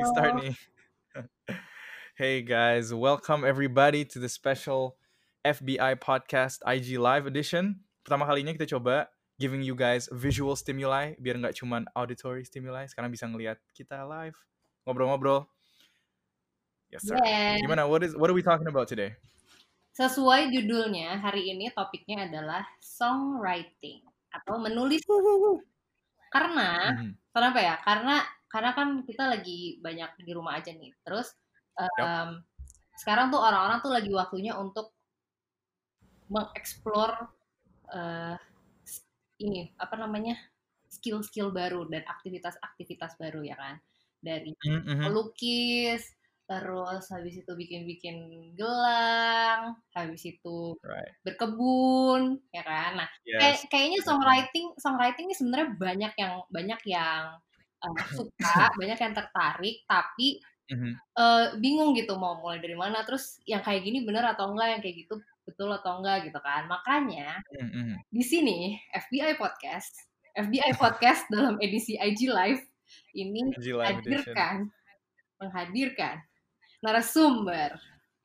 start Halo. nih. Hey guys, welcome everybody to the special FBI podcast IG Live edition. Pertama kalinya kita coba giving you guys visual stimuli biar nggak cuman auditory stimuli. Sekarang bisa ngelihat kita live ngobrol-ngobrol. Yes sir. Yeah. Gimana? What are we talking about today? Sesuai judulnya, hari ini topiknya adalah songwriting atau menulis. Karena, Mhm. kenapa ya? Karena kan kita lagi banyak di rumah aja nih. Terus Yep. sekarang tuh orang-orang tuh lagi waktunya untuk mengeksplor eh, ini apa namanya skill-skill baru dan aktivitas-aktivitas baru ya kan. Dari Mhm. melukis, terus habis itu bikin-bikin gelang, habis itu Right. berkebun, ya kan. Nah, Yes. kayaknya Bener banget. songwriting ini sebenarnya banyak yang suka, banyak yang tertarik, tapi Mhm. bingung gitu mau mulai dari mana. Terus yang kayak gini bener atau enggak, yang kayak gitu betul atau enggak gitu kan. Makanya Mhm. di sini FBI Podcast dalam edisi IG Live ini IG Live edition. menghadirkan narasumber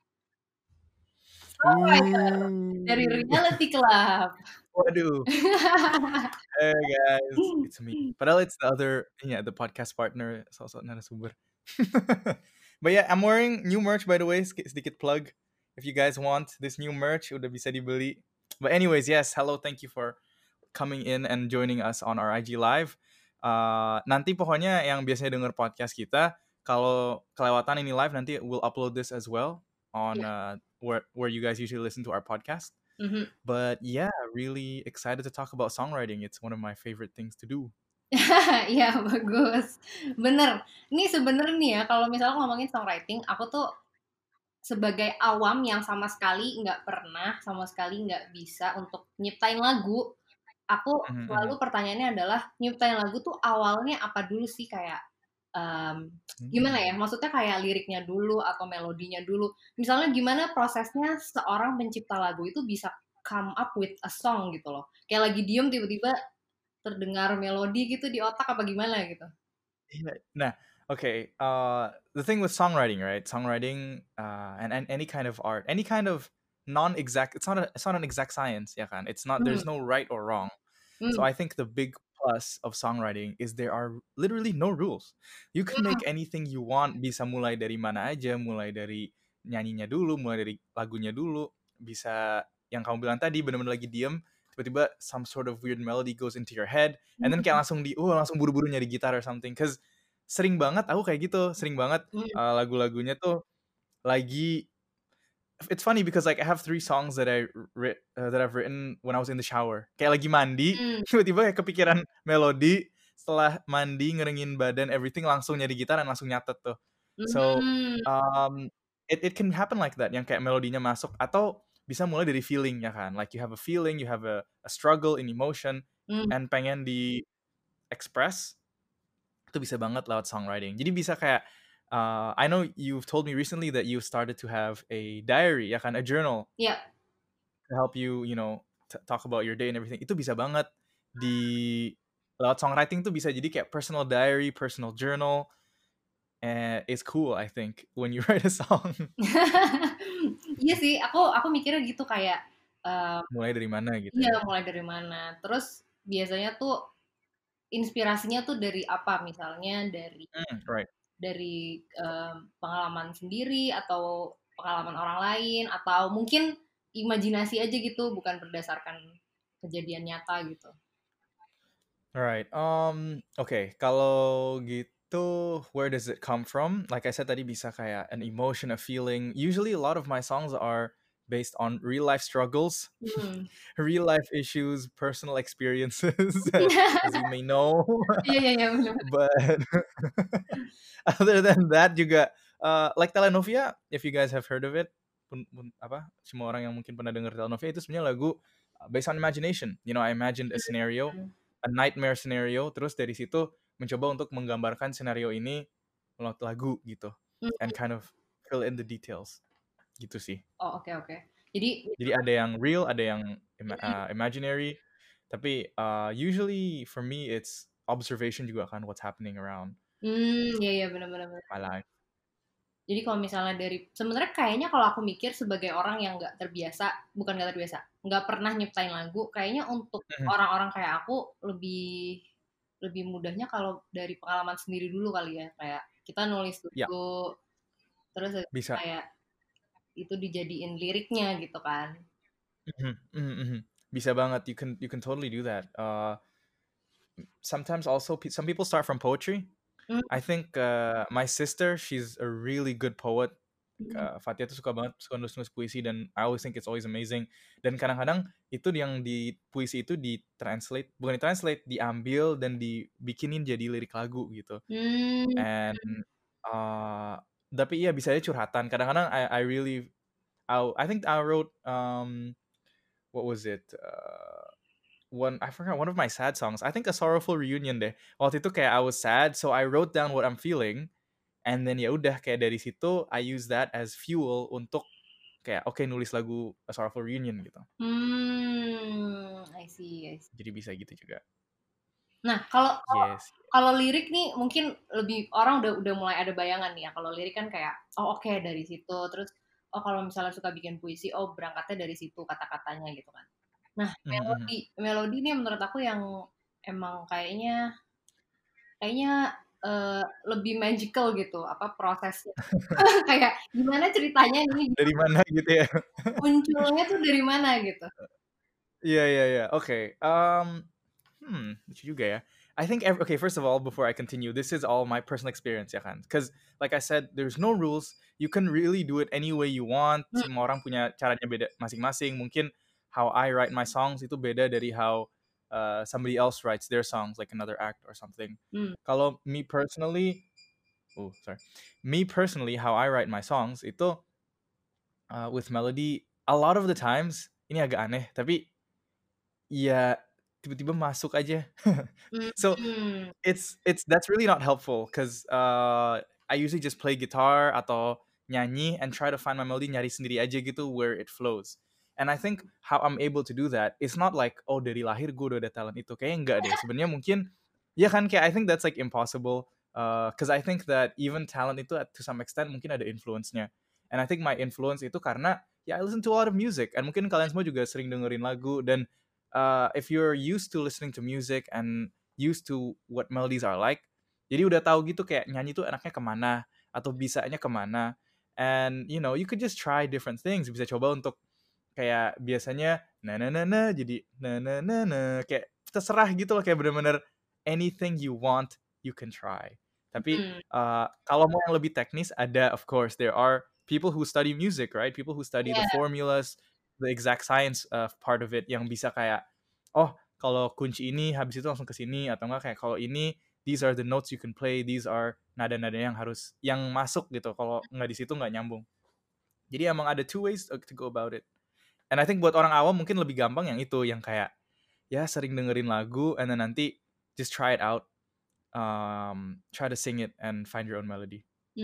songwriter dari Ooh. Reality Club. Waduh. Hey guys, it's me. Padahal it's the other, the podcast partner, sosok narasumber. But yeah, I'm wearing new merch by the way. Sedikit plug. If you guys want this new merch, udah bisa dibeli. But anyways, yes, hello, thank you for coming in and joining us on our IG live. Nanti pokoknya yang biasanya denger podcast kita, kalau kelewatan ini live, nanti we'll upload this as well on Ya. where you guys usually listen to our podcast. Mhm. But yeah, really excited to talk about songwriting. It's one of my favorite things to do. Iya bagus, bener. Ini sebenarnya nih ya kalau misalnya ngomongin songwriting, aku tuh sebagai awam yang sama sekali nggak bisa untuk nyiptain lagu. Aku Mhm, selalu mhm. pertanyaannya adalah nyiptain lagu tuh awalnya apa dulu sih kayak gimana ya? Hmm. Maksudnya kayak liriknya dulu atau melodinya dulu. Misalnya gimana prosesnya seorang pencipta lagu itu bisa come up with a song gitu loh. Kayak lagi diem tiba-tiba terdengar melodi gitu di otak apa gimana gitu. Yeah. Nah, okay. The thing with songwriting, right? Songwriting, and any kind of art, any kind of non-exact. It's not an exact science, ya kan? It's not. Hmm, There's no right or wrong. So hmm, I think the big plus of songwriting is there are literally no rules. You can hmm, make anything you want. Bisa mulai dari mana aja, mulai dari nyanyinya dulu, mulai dari lagunya dulu. Bisa yang kamu bilang tadi benar-benar lagi diem, tiba-tiba some sort of weird melody goes into your head, and then kayak langsung buru-buru nyari gitar or something. Cause sering banget aku kayak gitu, sering banget hmm, lagu-lagunya tuh lagi. It's funny because like I have 3 songs that I've written when I was in the shower. Kayak lagi mandi, hmm, tiba-tiba kayak kepikiran melodi, setelah mandi ngeringin badan everything langsung nyari gitar dan langsung nyatet tuh. So hmm, it can happen like that, yang kayak melodinya masuk atau bisa mulai dari feeling ya kan. Like you have a feeling, you have a struggle in emotion hmm. and pengen di express, itu bisa banget lewat songwriting. Jadi bisa kayak I know you've told me recently that you started to have a diary, ya kan, a journal Ya, to help you, talk about your day and everything. Itu bisa banget di lewat songwriting tuh bisa jadi kayak personal diary, personal journal, and it's cool I think when you write a song. iya sih, aku mikirnya gitu kayak, Mulai dari mana gitu iya ya. mulai dari mana, terus biasanya tuh inspirasinya tuh dari apa, misalnya Right. pengalaman sendiri atau pengalaman orang lain atau mungkin imajinasi aja gitu, bukan berdasarkan kejadian nyata gitu. Alright. Okay. Kalau gitu, where does it come from? Like I said tadi, bisa kayak an emotion, a feeling. Usually, a lot of my songs are based on real life struggles, Hmm. real life issues, personal experiences, as you may know. Iya iya iya, bener. But other than that juga, like Telenovia, if you guys have heard of it, apa? Semua orang yang mungkin pernah dengar Telenovia itu sebenarnya lagu based on imagination. I imagined a scenario, a nightmare scenario, terus dari situ mencoba untuk menggambarkan scenario ini melalui lagu gitu, and Mhm. kind of fill in the details gitu sih. Oh, oke oke. Jadi Jadi ada yang real, ada yang imaginary, tapi usually for me it's observation juga kan, what's happening around. Iya benar-benar. my life. Jadi kalau misalnya sebenarnya kayaknya kalau aku mikir sebagai orang yang nggak terbiasa, nggak pernah nyiptain lagu, kayaknya untuk Mhm. orang-orang kayak aku lebih lebih mudahnya kalau dari pengalaman sendiri dulu kali ya, kayak kita nulis Ya, dulu, terus bisa. kayak itu dijadiin liriknya gitu kan. Mhm, mhm, mhm. Bisa banget. You can totally do that. Sometimes also some people start from poetry. Hmm, I think my sister, she's a really good poet. hmm, Fatia tuh suka nulis puisi dan I always think it's always amazing. Dan kadang-kadang itu yang di puisi itu bukan ditranslate, diambil dan dibikinin jadi lirik lagu gitu. hmm, And uh, tapi iya bisa aja curhatan. Kadang-kadang I think I wrote what was it? I forgot one of my sad songs. I think a sorrowful reunion deh. Waktu itu kayak I was sad, so I wrote down what I'm feeling, and then ya udah kayak dari situ I use that as fuel untuk kayak oke, nulis lagu a sorrowful reunion gitu. I see. Jadi bisa gitu juga. Nah, kalau Yes. kalau lirik nih mungkin lebih orang udah mulai ada bayangan nih ya. Kalau lirik kan kayak oh oke, dari situ. Terus oh kalau misalnya suka bikin puisi, oh berangkatnya dari situ kata-katanya gitu kan. Nah, Mhm, mhm. melodi melodi ini menurut aku yang emang kayaknya kayaknya lebih magical gitu apa prosesnya. Kayak gimana ceritanya ini Dari mana gitu ya? munculnya tuh dari mana gitu. Iya, iya, iya. Oke. Lucu juga ya. I think okay, first of all, before I continue, this is all my personal experience ya kan. Because like I said, there's no rules. You can really do it any way you want. Hmm, Semua orang punya caranya beda masing-masing. Mungkin how I write my songs itu beda dari how somebody else writes their songs, like another act or something. hmm, Kalau me personally, how I write my songs itu with melody, a lot of the times ini agak aneh, tapi ya tiba-tiba masuk aja. So hmm, it's that's really not helpful because I usually just play guitar atau nyanyi and try to find my melody, nyari sendiri aja gitu where it flows. And I think how I'm able to do that, it's not like oh dari lahir gue udah ada talent itu. Kayaknya enggak deh. Sebenarnya mungkin ya kan kayak I think that's like impossible. Because I think that even talent itu to some extent mungkin ada influence-nya. And I think my influence itu karena ya I listen to a lot of music. And mungkin kalian semua juga sering dengerin lagu. Dan if you're used to listening to music and used to what melodies are like, jadi udah tahu gitu kayak nyanyi tuh enaknya kemana atau bisanya kemana. And you could just try different things. Bisa coba untuk kayak biasanya na na na na jadi na kayak terserah gitu loh, kayak bener-bener anything you want you can try. Tapi hmm. kalau mau yang lebih teknis ada, of course there are people who study music, right? People who study the Iya. formulas, the exact science part of it, yang bisa kayak oh kalau kunci ini habis itu langsung ke sini, atau enggak kayak kalau ini these are the notes you can play, these are nada-nada yang masuk gitu, kalau nggak di situ nggak nyambung. Jadi emang ada two ways to go about it. And I think buat orang awam mungkin lebih gampang yang itu, yang kayak ya sering dengerin lagu and then nanti just try it out, try to sing it and find your own melody.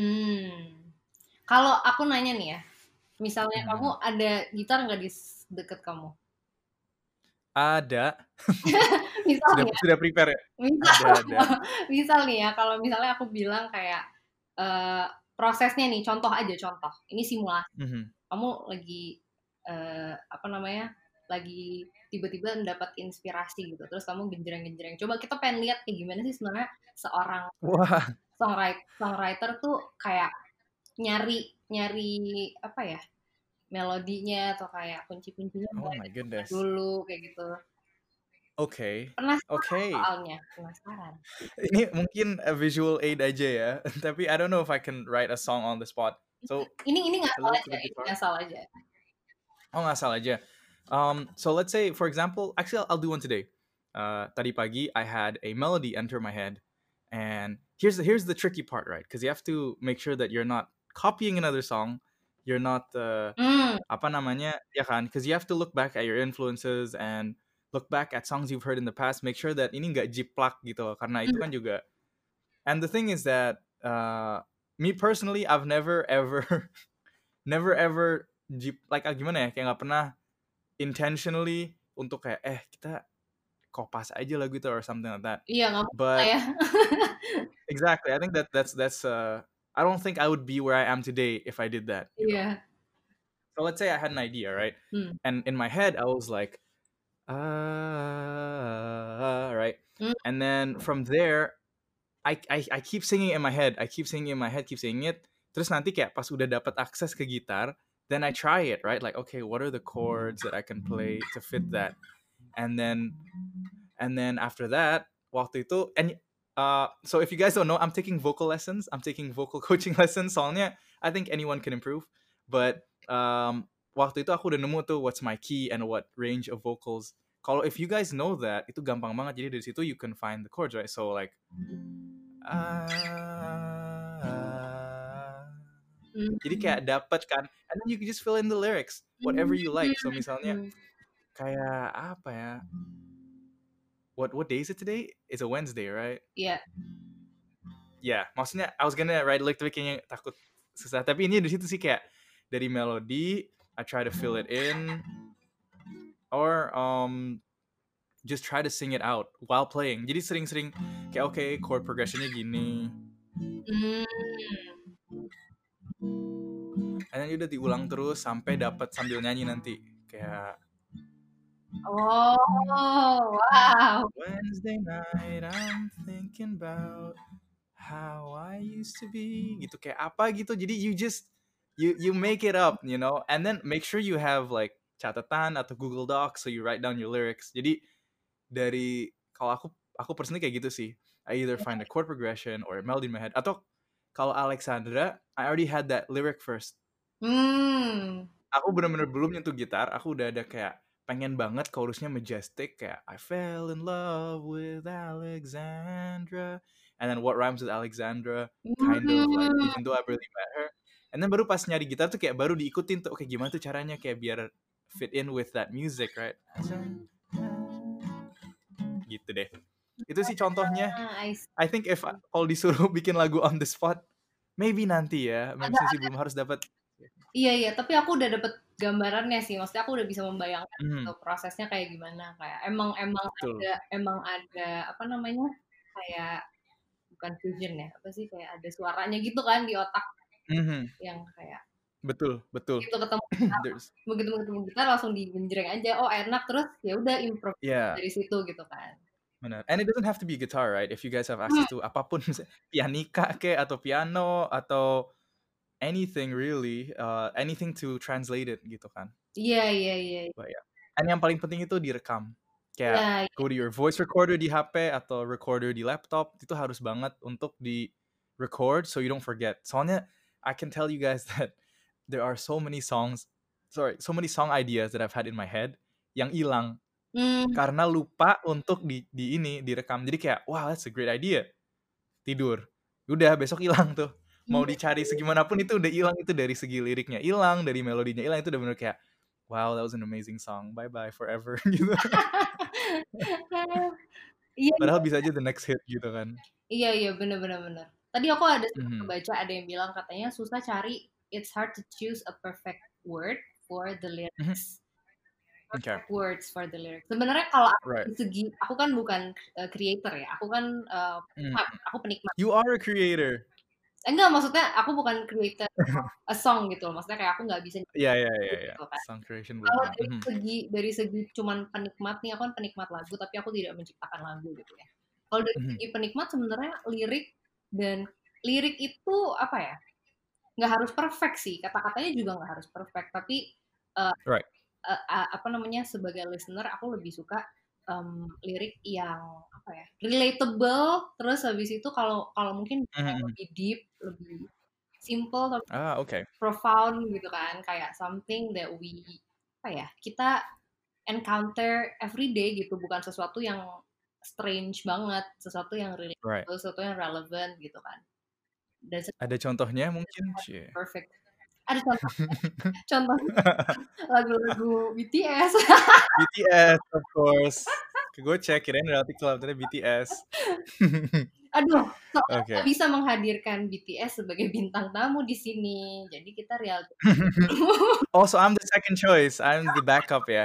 Kalau aku nanya nih ya, misalnya kamu Mhm. ada gitar nggak di deket kamu? Ada. Misal nih ya, Sudah prepare ya? misal, Ada. misal nih ya, kalau misalnya aku bilang kayak eh, prosesnya nih, contoh. Ini simulasi. Mhm. Kamu lagi apa namanya? Lagi tiba-tiba mendapat inspirasi gitu, terus kamu genjreng-genjreng. Coba kita pengen lihat kayak gimana sih sebenarnya seorang Wah. songwriter tuh kayak nyari nyari apa ya? Melodinya atau kayak kunci-kuncinya Oh mulai my ditemukan goodness. dulu kayak gitu. Okay. Penasaran Okay. soalnya, penasaran. Ini mungkin a visual aid aja ya. Tapi I don't know if I can write a song on the spot. So Ini ngasal hello to aja, the ini guitar. ngasal aja. Oh, ngasal aja. So let's say, for example, actually I'll do one today. Tadi pagi I had a melody enter my head, and here's the tricky part, right? Because you have to make sure that you're not copying another song, you're not Hmm, apa namanya, ya kan? Because you have to look back at your influences and look back at songs you've heard in the past. Make sure that ini nggak jiplak gitu, karena itu kan juga. And the thing is that me personally, I've never ever, never ever like gimana ya, kayak nggak pernah intentionally untuk kayak kita kopas aja lagu itu or something like that. Iya, nggak mungkin lah But ya. exactly, I think that's I don't think I would be where I am today if I did that. Iya. So let's say I had an idea, right? And in my head I was like, right? And then from there I keep singing in my head. I keep singing in my head, keep singing it. Terus nanti kayak pas udah dapat akses ke gitar, then I try it, right? Like, okay, what are the chords that I can play to fit that? And then after that, waktu itu, and so if you guys don't know, I'm taking vocal lessons. I'm taking vocal coaching lessons. Soalnya I think anyone can improve. But waktu itu aku udah nemu tuh what's my key and what range of vocals. Kalau if you guys know that, itu gampang banget. Jadi dari situ you can find the chords, right? So like jadi kayak dapat kan, and then you can just fill in the lyrics whatever you like. So misalnya kayak apa ya, what day is it today? It's a Wednesday, right? Iya. Yeah, maksudnya I was gonna write lyric tapi kayaknya takut susah, tapi ini di situ sih kayak dari melodi I try to fill it in or just try to sing it out while playing. Jadi sering-sering kayak okay, chord progressionnya gini. And then udah diulang terus sampai dapat sambil nyanyi nanti kayak oh wow, Wednesday night I'm thinking about how I used to be gitu, kayak apa gitu. Jadi you just you make it up, you know, and then make sure you have like catatan atau Google Docs so you write down your lyrics. Jadi dari kalau aku personally kayak gitu sih. I either find a chord progression or a melody in my head, atau kalau Alexandra I already had that lyric first. Aku benar-benar belum nyentuh gitar, aku udah ada kayak pengen banget chorusnya majestic kayak I fell in love with Alexandra, and then what rhymes with Alexandra, kind of like even though I really met her. And then baru pas nyari gitar tuh kayak baru diikutin tuh, oke gimana tuh caranya kayak biar fit in with that music, right? Gitu deh. Itu sih contohnya. I think if kalau disuruh bikin lagu on the spot, maybe nanti ya. Memang sih belum harus dapat. Iya, tapi aku udah dapet gambarannya sih. Maksudnya aku udah bisa membayangkan gitu, prosesnya kayak gimana. Kayak emang ada apa namanya? Kayak bukan fusion ya, apa sih, kayak ada suaranya gitu kan di otak. Yang kayak betul. Gitu ketemu begitu ketemu gitar langsung digenjreng aja. Oh, enak, terus ya udah improve dari situ gitu kan. Benar. And it doesn't have to be guitar, right? If you guys have access to apapun, pianika kayak atau piano atau anything really, anything to translate it gitu kan. Iya. But yeah. And yang paling penting itu direkam. Kayak go to your voice recorder di HP atau recorder di laptop, itu harus banget untuk di record so you don't forget. Soalnya I can tell you guys that there are so many song ideas that I've had in my head yang hilang karena lupa untuk direkam. Jadi kayak wow, that's a great idea. Tidur. Udah besok hilang tuh. Mau dicari segimanapun itu udah hilang, itu dari segi liriknya hilang, dari melodinya hilang, itu udah bener kayak wow, that was an amazing song, bye bye forever gitu. Padahal bisa aja the next hit gitu kan. Iya bener. Tadi aku ada baca ada yang bilang katanya susah cari, it's hard to choose a perfect word for the lyrics. Perfect words for the lyrics. Sebenarnya kalau dari segi aku kan bukan creator ya, aku kan aku penikmat. You are a creator. Enggak, maksudnya aku bukan creator a song gitu loh. Maksudnya kayak aku nggak bisa. Iya. Gitu, kan. Song creation. Kalau dari segi cuman penikmat nih, aku kan penikmat lagu, tapi aku tidak menciptakan lagu gitu ya. Kalau dari segi penikmat sebenarnya lirik itu apa ya? Nggak harus perfect sih. Kata-katanya juga nggak harus perfect, tapi apa namanya, sebagai listener aku lebih suka lirik yang apa ya, relatable, terus habis itu kalau mungkin lebih deep, lebih simple, tapi profound gitu kan, kayak something that kita encounter every day gitu, bukan sesuatu yang strange banget, sesuatu yang relatable, sesuatu yang relevant gitu kan. Dan ada contohnya mungkin? Perfect. Ada contoh lagu-lagu BTS. BTS of course. Gue cek kirain Reality Club, ternyata BTS. Aduh, kita bisa menghadirkan BTS sebagai bintang tamu di sini. Jadi kita Reality. Oh, so I'm the second choice. I'm the backup ya.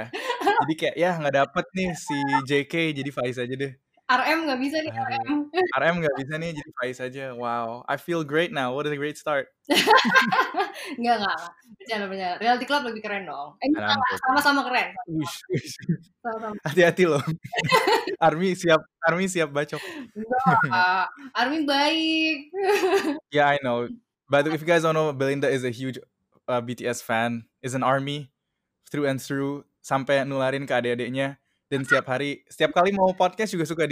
Jadi kayak ya nggak dapet nih si JK, jadi Faiz aja deh. RM nggak bisa nih, Aduh. RM. RM nggak bisa nih, jadi Faiz aja. Wow, I feel great now. What a great start. Enggak. Bercanda. Reality Club lebih keren dong. And I'm joking. Sama-sama keren. Wish. Sama-sama. Hati-hati loh. Army siap bacok. Enggak, Army baik. Yeah, I know. But if you guys don't know, Belinda is a huge BTS fan, is an ARMY through and through, sampai nularin ke adik-adiknya. Dan setiap kali mau podcast juga suka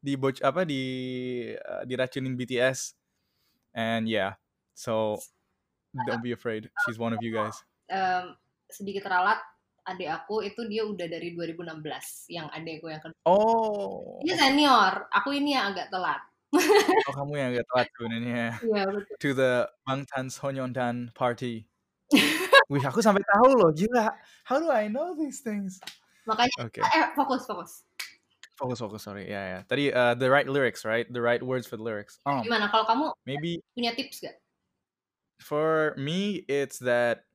diracunin BTS. And yeah, so don't be afraid. She's one of you guys. Sedikit ralat, adik aku itu dia udah dari 2016, yang adikku yang kedua. Oh. Dia senior, aku ini yang agak telat. Oh, kamu yang agak telat sebenarnya. Iya, betul. To the Bangtan Sonyeondan party. Wih, aku sampai tahu loh, gila. How do I know these things? Makanya, Okay. Fokus. Fokus, sorry. Ya. Tadi the right lyrics, right? The right words for the lyrics. Gimana kalau kamu Maybe punya tips gak? for me, it's that,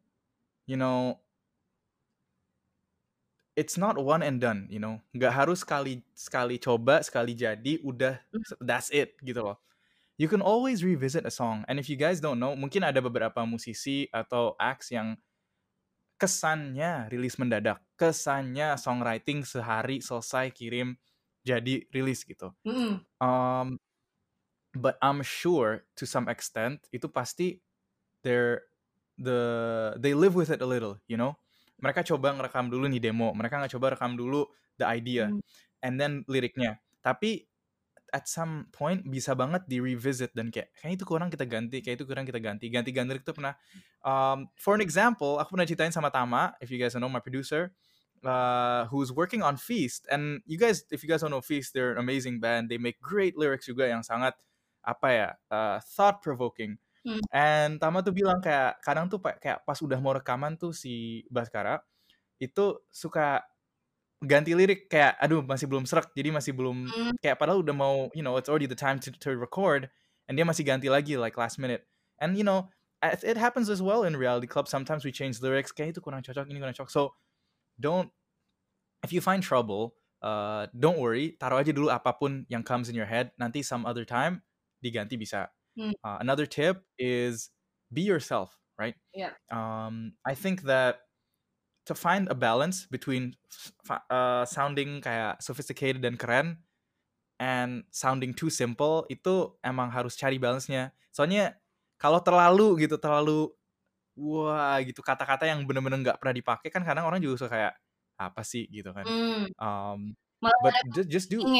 it's not one and done, Nggak harus sekali coba, sekali jadi, udah, that's it, gitu loh. You can always revisit a song. And if you guys don't know, mungkin ada beberapa musisi atau acts yang kesannya rilis mendadak. Kesannya songwriting sehari selesai kirim jadi rilis gitu. But I'm sure to some extent itu pasti they live with it a little, Mereka coba ngerekam dulu nih demo, mereka nggak coba rekam dulu the idea, and then liriknya. Tapi at some point bisa banget di revisit dan kayak itu kurang kita ganti, ganti lirik tuh pernah. For an example, aku pernah ceritain sama Tama, if you guys don't know, my producer, who's working on Feast, and if you guys don't know Feast, they're an amazing band. They make great lyrics juga yang sangat thought provoking. And Tama tuh bilang kayak kadang tuh kayak pas udah mau rekaman tuh si Baskara itu suka ganti lirik kayak aduh masih belum serak, jadi masih belum kayak padahal udah mau it's already the time to record, and dia masih ganti lagi like last minute. And it happens as well in Reality Club, sometimes we change lyrics kayak itu kurang cocok, ini kurang cocok. So if you find trouble, don't worry, taruh aja dulu apapun yang comes in your head, nanti some other time diganti bisa. Another tip is be yourself, right? Yeah. I think that to find a balance between sounding kayak sophisticated dan keren and sounding too simple, itu emang harus cari balance-nya. Soalnya kalau terlalu wah gitu, kata-kata yang bener-bener nggak pernah dipakai kan kadang orang juga suka kayak apa sih gitu kan. But just do.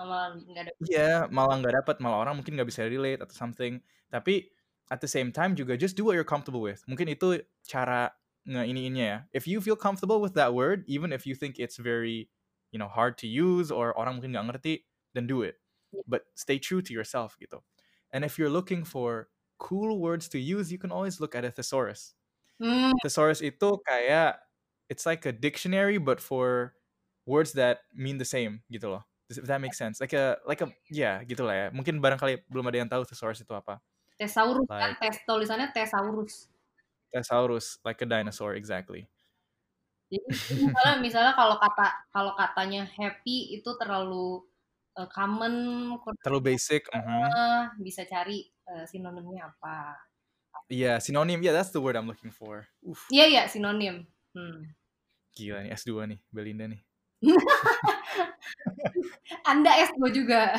Malah nggak dapet, malah orang mungkin nggak bisa relate atau something. Tapi at the same time juga just do what you're comfortable with. Mungkin itu cara ngeiniinnya ya. If you feel comfortable with that word, even if you think it's very hard to use or orang mungkin nggak ngerti, then do it. But stay true to yourself gitu. And if you're looking for cool words to use, you can always look at a thesaurus. Thesaurus itu kayak it's like a dictionary but for words that mean the same gitu loh. If that makes sense. Like a ya gitulah ya. Mungkin barangkali belum ada yang tahu thesaurus itu apa. Thesaurus kan, tulisannya thesaurus. Thesaurus, like a dinosaur, exactly. Jadi misalnya kalau katanya happy itu terlalu common, terlalu basic, bisa cari sinonimnya apa. Yeah, synonym. Yeah, that's the word I'm looking for. Iya, sinonim. Gila nih, S2 nih, Belinda nih. Anda S2 juga.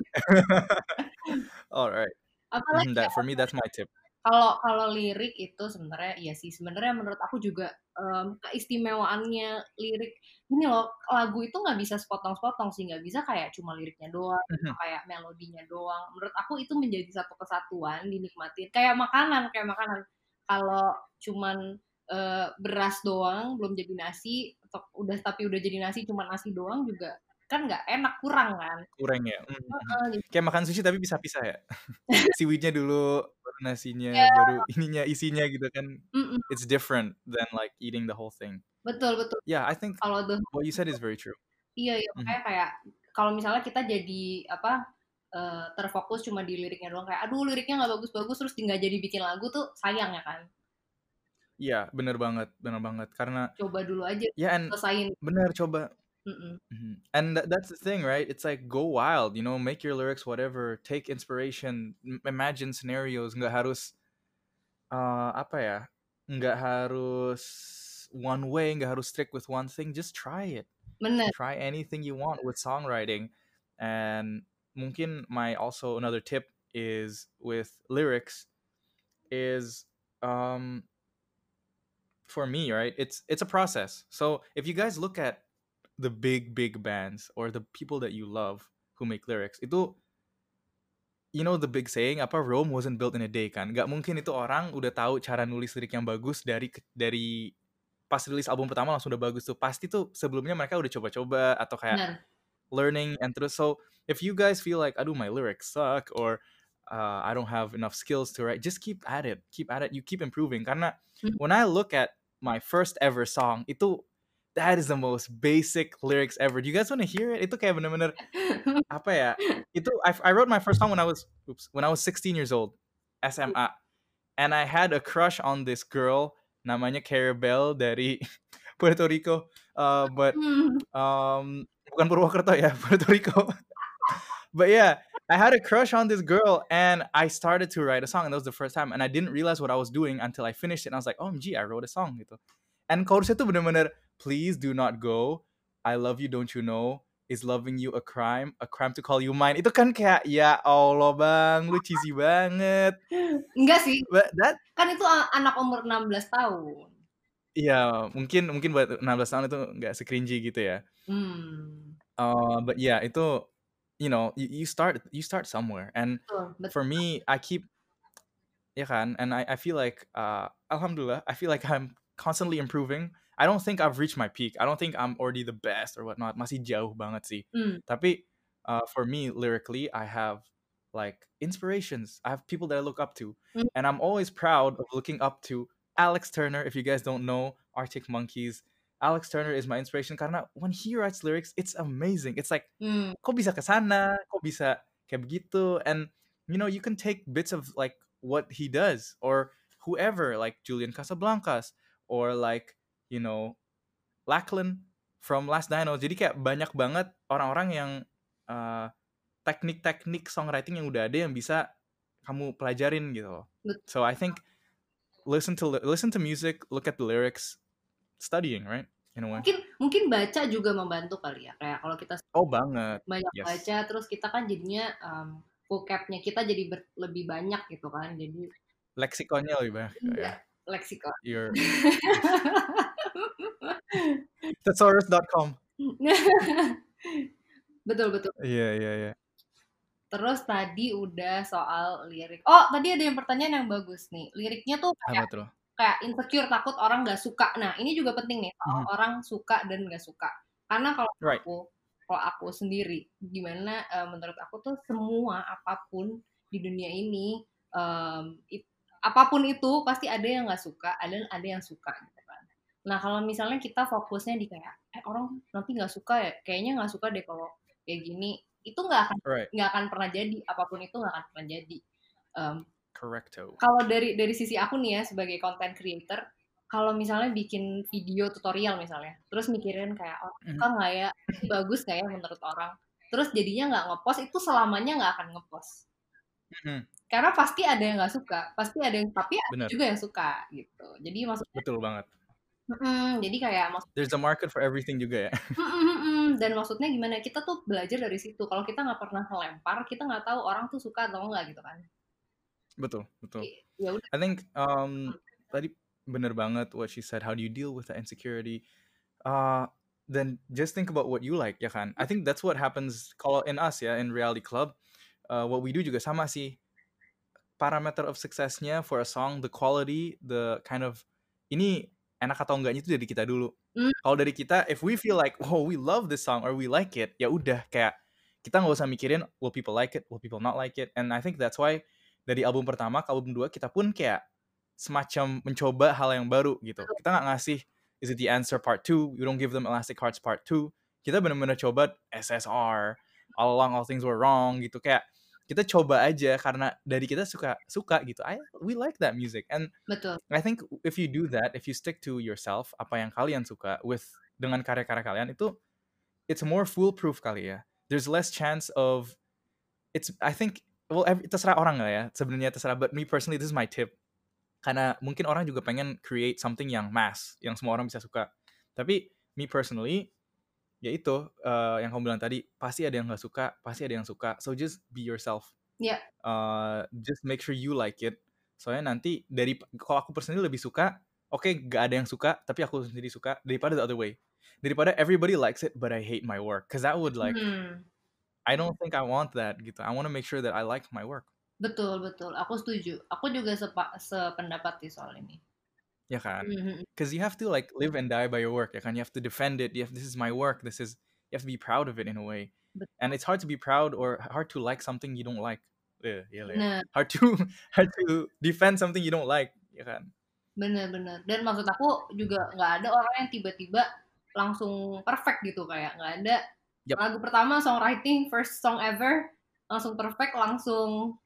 Alright. Apalagi for me, that's my tip. Kalau lirik itu sebenarnya menurut aku juga keistimewaannya lirik ini loh, lagu itu nggak bisa sepotong-sepotong sih, nggak bisa kayak cuma liriknya doang, kayak melodinya doang. Menurut aku itu menjadi satu kesatuan, dinikmatin kayak makanan. Kalau cuman beras doang belum jadi nasi, tapi udah jadi nasi cuma nasi doang juga kan nggak enak, kurang kan? Kurang ya. Kayak makan sushi tapi pisah-pisah ya. Seaweednya dulu, baru nasinya, baru isinya gitu kan. It's different than like eating the whole thing. Betul. Yeah, I think what you said is very true. Iya, makanya kayak kalau misalnya kita jadi terfokus cuma di liriknya doang, kayak aduh liriknya nggak bagus-bagus terus nggak jadi bikin lagu tuh sayang ya kan. Iya, bener banget, karena Coba dulu aja, ya and selesain. bener coba. Mhm. And that's the thing, right? It's like go wild, make your lyrics whatever, take inspiration, imagine scenarios, nggak harus apa ya? Nggak harus one way, nggak harus strict with one thing, just try it. Bener. Try anything you want with songwriting. And mungkin my also another tip is with lyrics is um for me, right? It's a process. So if you guys look at the big bands or the people that you love who make lyrics, itu the big saying apa, Rome wasn't built in a day kan? Gak mungkin itu orang udah tahu cara nulis lirik yang bagus dari pas rilis album pertama langsung udah bagus tuh. Pasti tuh sebelumnya mereka udah coba-coba atau kayak Bener. learning and terus. So if you guys feel like aduh my lyrics suck or I don't have enough skills to write, just keep at it, you keep improving. Karena when I look at my first ever song, itu that is the most basic lyrics ever. Do you guys want to hear it? Itu kayak bener-bener apa ya? Itu I wrote my first song when I was 16 years old, SMA, and I had a crush on this girl namanya Carabelle dari Puerto Rico, but bukan Purwokerto ya, Puerto Rico. But yeah, I had a crush on this girl and I started to write a song, and that was the first time, and I didn't realize what I was doing until I finished it and I was like, OMG, I wrote a song gitu. And chorusnya tuh bener-bener, please do not go, I love you, don't you know, is loving you a crime to call you mine. Itu kan kayak ya Allah bang, lu cheesy banget. Enggak sih, But that kan itu anak umur 16 tahun. iya, mungkin buat 16 tahun itu nggak se-cringy gitu ya. But yeah, itu you start somewhere, and Betul. for me I keep ya kan, and I feel like alhamdulillah, I feel like I'm constantly improving. I don't think I've reached my peak. I don't think I'm already the best or whatnot. Masih jauh banget sih. Tapi for me lyrically, I have like inspirations. I have people that I look up to, and I'm always proud of looking up to Alex Turner. If you guys don't know Arctic Monkeys, Alex Turner is my inspiration karena when he writes lyrics, it's amazing. It's like kok bisa kesana, kok bisa kayak begitu, and you can take bits of like what he does or whoever like Julian Casablancas or like Lachlan from Last Dino. Jadi kayak banyak banget orang-orang yang teknik-teknik songwriting yang udah ada yang bisa kamu pelajarin gitu. So I think listen to music, look at the lyrics, studying, right? In a way. Mungkin baca juga membantu kali ya. Kayak kalau kita banget. Banyak baca, terus kita kan jadinya vocabnya kita jadi lebih banyak gitu kan. Jadi leksikonnya lebih banyak. Iya, leksikon. Thesaurus.com. Betul. Iya. Terus tadi udah soal lirik. Oh, tadi ada yang pertanyaan yang bagus nih. Liriknya tuh kayak insecure, takut orang nggak suka. Nah, ini juga penting nih, soal orang suka dan nggak suka. Karena kalau aku sendiri, gimana menurut aku tuh semua apapun di dunia ini, apapun itu pasti ada yang nggak suka, ada yang suka gitu kan. Nah, kalau misalnya kita fokusnya di kayak orang nanti nggak suka ya, kayaknya nggak suka deh kalau kayak gini, itu nggak akan pernah jadi, apapun itu nggak akan pernah jadi. Correcto. Kalau dari sisi aku nih ya sebagai content creator, kalau misalnya bikin video tutorial misalnya, terus mikirin kayak suka nggak ya, bagus nggak ya menurut orang, terus jadinya nggak ngepost, itu selamanya nggak akan ngepost. Karena pasti ada yang nggak suka, pasti ada yang, tapi ada juga yang suka gitu. Jadi maksudnya betul banget. Jadi kayak there's a market for everything juga ya. Dan maksudnya gimana, kita tuh belajar dari situ. Kalau kita nggak pernah ngelempar, kita nggak tahu orang tuh suka atau enggak gitu kan. Betul. Ya udah. I think tadi bener banget what she said. How do you deal with the insecurity? Then just think about what you like, ya kan? I think that's what happens kalau in us ya, in Reality Club. What we do juga sama sih. Parameter of successnya for a song, the quality, the kind of ini enak atau enggaknya itu dari kita dulu. Kalau dari kita, if we feel like, oh we love this song or we like it, ya udah kayak kita nggak usah mikirin will people like it, will people not like it. And I think that's why dari album pertama ke album 2 kita pun kayak semacam mencoba hal yang baru gitu. Kita nggak ngasih Is It The Answer Part 2, we don't give them Elastic Hearts Part 2. Kita benar-benar coba SSR, All Along All Things Were Wrong gitu, kayak kita coba aja karena dari kita suka gitu. We like that music, and Betul. I think if you do that, if you stick to yourself, apa yang kalian suka dengan karya-karya kalian itu, it's more foolproof kali ya. There's less chance of I think terserah orang lah ya. Sebenarnya terserah, but me personally this is my tip. Karena mungkin orang juga pengen create something yang mass, yang semua orang bisa suka. Tapi me personally, ya itu yang kamu bilang tadi, pasti ada yang nggak suka, pasti ada yang suka. So just be yourself. Ya. Just make sure you like it. Soalnya nanti kalau aku personally lebih suka, oke, nggak ada yang suka, tapi aku sendiri suka, daripada the other way. Daripada everybody likes it, but I hate my work. Cause that would I don't think I want that gitu. I want to make sure that I like my work. Betul. Aku setuju. Aku juga sependapat sih soal ini. Ya kan? Because you have to like live and die by your work. Ya kan? You have to defend it. This is my work. You have to be proud of it in a way. Betul. And it's hard to be proud or hard to like something you don't like. Bener. Hard to defend something you don't like. Ya kan? Bener. Dan maksud aku juga nggak ada orang yang tiba-tiba langsung perfect gitu, kayak nggak ada. Yep. Lagu pertama songwriting, first song ever, langsung perfect, langsung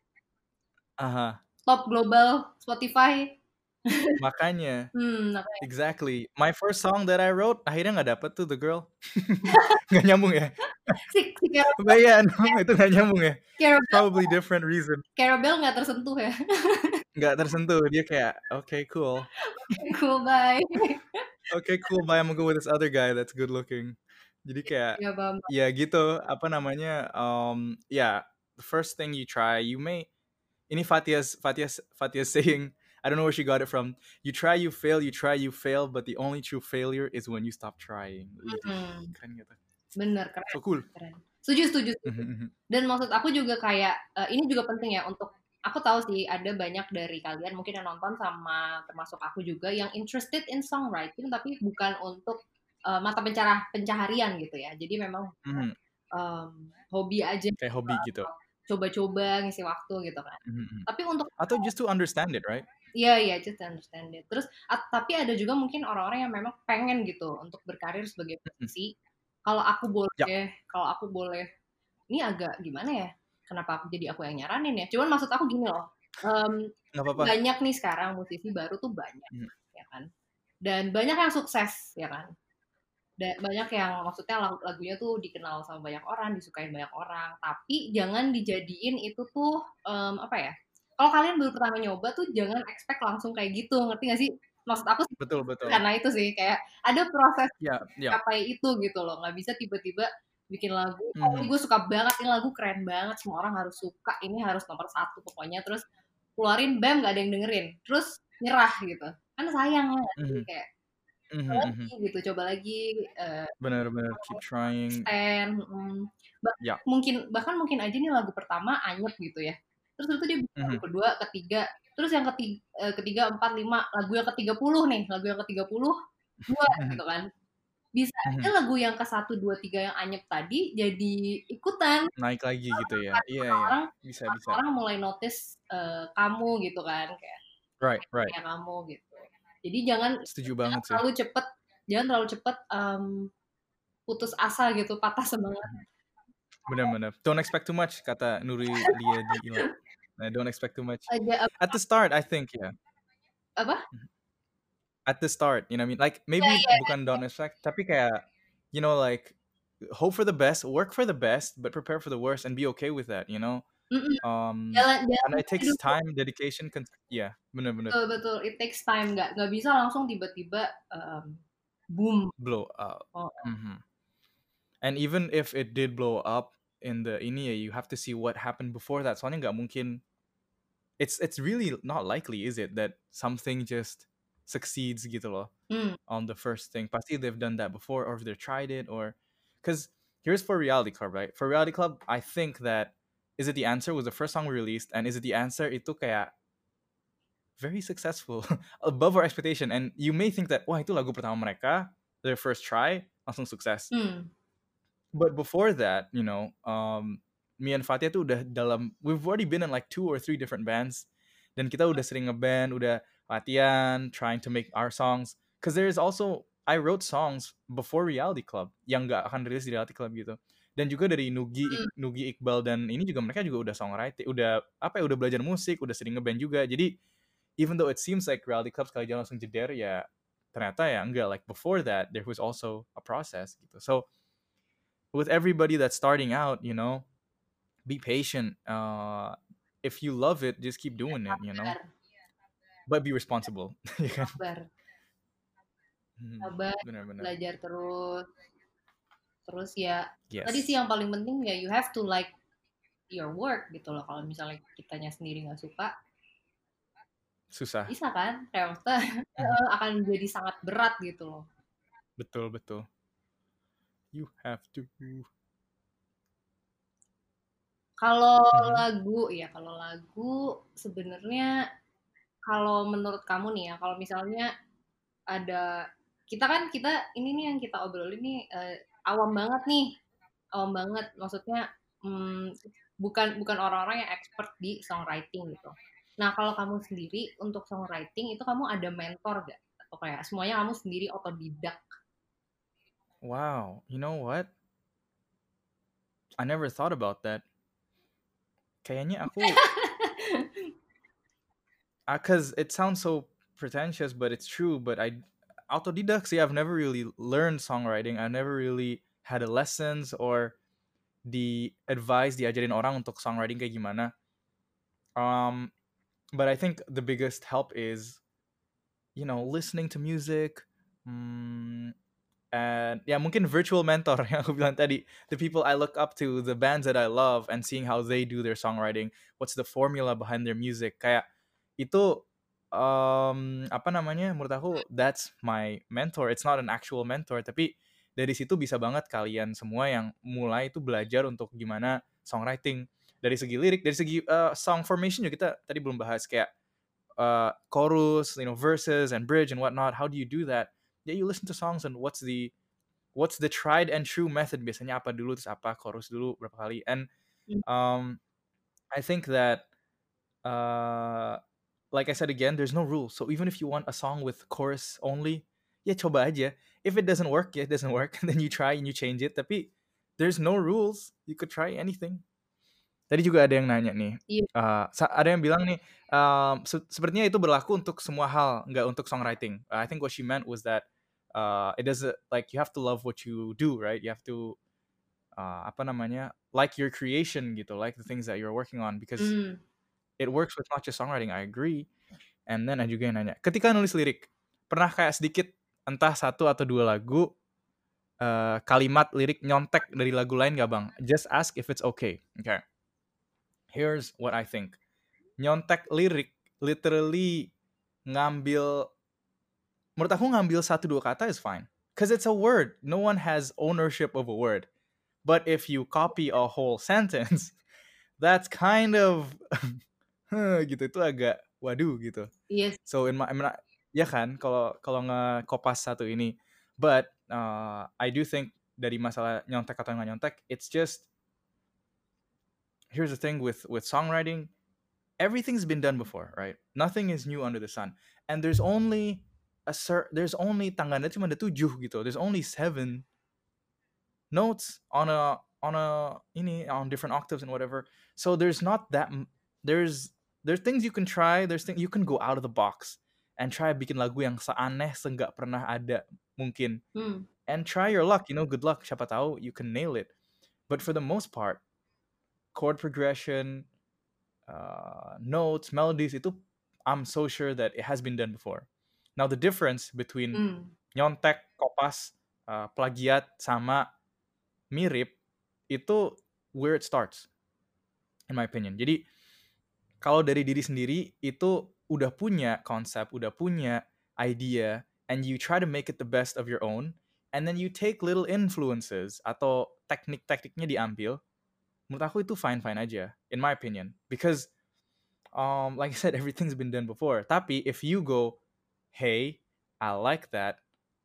top global Spotify. Makanya. Exactly. My first song that I wrote, akhirnya nggak dapet tuh The Girl. Nggak nyambung ya? Si But yeah, no, itu nggak nyambung ya? Probably different reason. Carabel nggak tersentuh ya? Nggak tersentuh. Dia kayak, okay, cool. Cool, bye. Okay, cool, bye. I'm gonna go with this other guy that's good looking. Jadi kayak, ya gitu, apa namanya, the first thing you try, you may, ini Fatia's saying, I don't know where she got it from. You try, you fail, but the only true failure is when you stop trying. Keren gitu. Bener, keren. So cool. Keren. Setuju. Dan maksud aku juga kayak, ini juga penting ya untuk, aku tahu sih ada banyak dari kalian mungkin yang nonton sama termasuk aku juga yang interested in songwriting, tapi bukan untuk mata pencaharian gitu ya. Jadi memang hobi aja. Kayak hobi gitu. Coba-coba ngisi waktu gitu kan. Tapi untuk atau just to understand it, right? Iya, just to understand it. Terus tapi ada juga mungkin orang-orang yang memang pengen gitu untuk berkarir sebagai musisi. Kalau aku boleh, ini agak gimana ya? Kenapa jadi aku yang nyaranin ya? Cuman maksud aku gini loh. Banyak nih sekarang musisi baru tuh banyak, ya kan? Dan banyak yang sukses, ya kan? Dan banyak yang maksudnya lagunya tuh dikenal sama banyak orang, disukain banyak orang. Tapi jangan dijadiin itu tuh apa ya? Kalau kalian baru pertama nyoba tuh jangan expect langsung kayak gitu, ngerti gak sih? Maksud aku sih, betul. Karena itu sih kayak ada proses capai itu gitu loh. Nggak bisa tiba-tiba bikin lagu, ini gue suka banget, ini lagu keren banget, semua orang harus suka, ini harus nomor 1 pokoknya, terus keluarin, bam, nggak ada yang dengerin, terus nyerah gitu. Kan sayang ya, kayak coba lagi. Bener, keep trying. Bahkan mungkin aja nih lagu pertama anyep gitu ya. Terus itu dia lagu kedua, ketiga, terus yang ketiga, 4, 5, lagu yang ke-30 nih, lagu yang ke-30 dua gitu kan. Bisa aja lagu yang ke-1, 2, 3 yang anyep tadi jadi ikutan. Naik lagi gitu ya. Iya. Bisa. Orang mulai notice kamu gitu kan, kayak right. Kayak kamu gitu. Jadi jangan terlalu cepet putus asa gitu, patah semangat. Benar. Don't expect too much, kata Nuri Lia di Ila. Don't expect too much. At the start, I think, yeah. Apa? At the start, you know what I mean? Like, maybe bukan don't expect, tapi kayak, you know, like, hope for the best, work for the best, but prepare for the worst and be okay with that, you know? And it takes time, dedication, bener. Betul, it takes time, nggak bisa langsung tiba-tiba boom, blow up. And even if it did blow up in the ini, you have to see what happened before that. Soalnya nggak mungkin, it's really not likely, is it, that something just succeeds gitu loh on the first thing. Pasti they've done that before, or if they've tried it, or because here's For Reality Club, right? For Reality Club, I think that Is It the Answer was the first song we released, and Is It the Answer itu kayak very successful, above our expectation. And you may think that, wah, itu lagu pertama mereka, their first try, langsung sukses. But before that, you know, me and Fatia tuh udah we've already been in like 2 or 3 different bands. Dan kita udah sering ngeband, udah latihan, trying to make our songs. Because there is also, I wrote songs before Reality Club yang nggak akan rilis di Reality Club gitu. Dan juga dari Nugi Iqbal dan ini juga mereka juga udah songwriting, udah apa ya, udah belajar musik, udah sering ngeband juga. Jadi even though it seems like Reality Club sekali jalan langsung jeder, ya ternyata ya enggak. Like before that, there was also a process gitu. So with everybody that's starting out, be patient. If you love it, just keep doing it, Sabar, but be responsible. Ya kan? sabar, sabar, Benar-benar. belajar terus. Terus ya tadi sih Yes. yang paling penting ya you have to like your work gitu loh. Kalau misalnya kitanya sendiri nggak suka, Susah. bisa kan? Kayak maksudnya akan jadi sangat berat gitu loh. Betul, betul. You have to. Kalau lagu sebenarnya kalau menurut kamu nih ya, kalau misalnya ada kita ini nih yang kita obrolin nih awam banget nih, awam banget. Maksudnya bukan bukan orang-orang yang expert di songwriting gitu. Nah, kalau kamu sendiri untuk songwriting itu kamu ada mentor gak? Atau kayak semuanya kamu sendiri otodidak? Wow, you know what? I never thought about that. Kayaknya aku, cause it sounds so pretentious, but it's true. But autodidact sih. I've never really learned songwriting. I never really had a lessons or the advice diajarin orang untuk songwriting kayak gimana. But I think the biggest help is, listening to music, and yeah, mungkin virtual mentor yang aku bilang tadi, the people I look up to, the bands that I love, and seeing how they do their songwriting, what's the formula behind their music, kayak itu apa namanya, menurut aku that's my mentor. It's not an actual mentor, tapi dari situ bisa banget kalian semua yang mulai itu belajar untuk gimana songwriting, dari segi lirik, dari segi song formation juga kita tadi belum bahas, kayak chorus, verses and bridge and whatnot. How do you do that? Yeah, you listen to songs and what's the tried and true method, biasanya apa dulu, terus apa chorus dulu berapa kali. And I think that like I said again, there's no rule. So even if you want a song with chorus only, ya coba aja. If it doesn't work, ya it doesn't work. And then you try and you change it. Tapi there's no rules. You could try anything. Tadi juga ada yang nanya nih. Iya. Ada yang bilang nih, sepertinya itu berlaku untuk semua hal, nggak untuk songwriting. I think what she meant was that it doesn't, like, you have to love what you do, right? You have to apa namanya, like your creation gitu, like the things that you're working on, because it works with not just songwriting. I agree. And then ada juga yang nanya, ketika nulis lirik, pernah kayak sedikit entah satu atau dua lagu kalimat lirik nyontek dari lagu lain gak bang? Just ask if it's okay. Okay. Here's what I think. Nyontek lirik literally menurut aku ngambil satu dua kata is fine. Because it's a word. No one has ownership of a word. But if you copy a whole sentence, that's kind of gitu, itu agak waduh gitu. Yes. So ya kan, kalau nge-kopas satu ini. But I do think dari masalah nyontek atau nggak nyontek, it's just, here's the thing with songwriting, everything's been done before, right? Nothing is new under the sun. And there's only tangganya cuma ada 7 gitu. There's only 7 notes on different octaves and whatever. So there's not that there's things you can try, there's things you can go out of the box and try bikin lagu yang seaneh seenggak pernah ada mungkin. And try your luck, good luck, siapa tahu you can nail it. But for the most part, chord progression, notes, melodies, itu I'm so sure that it has been done before. Now the difference between nyontek, kopas, plagiat sama mirip itu where it starts, in my opinion. Jadi kalau dari diri sendiri itu udah punya konsep, udah punya idea, and you try to make it the best of your own, and then you take little influences atau teknik-tekniknya diambil, menurut aku itu fine-fine aja, in my opinion. Because like I said, everything's been done before. Tapi if you go, hey, I like that,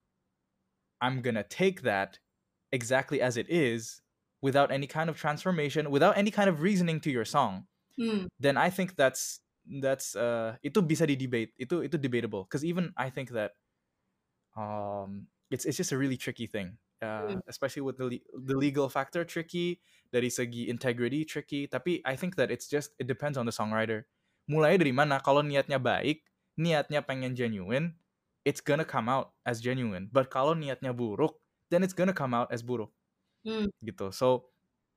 I'm gonna take that exactly as it is, without any kind of transformation, without any kind of reasoning to your song, then I think that's itu bisa di debate, itu debatable. Because even I think that it's just a really tricky thing. Hmm. Especially with the legal factor tricky, dari segi integrity tricky. Tapi I think that it depends on the songwriter. Mulai dari mana? Kalau niatnya baik, niatnya pengen genuine, it's gonna come out as genuine. But kalau niatnya buruk, then it's gonna come out as buruk Hmm. gitu. So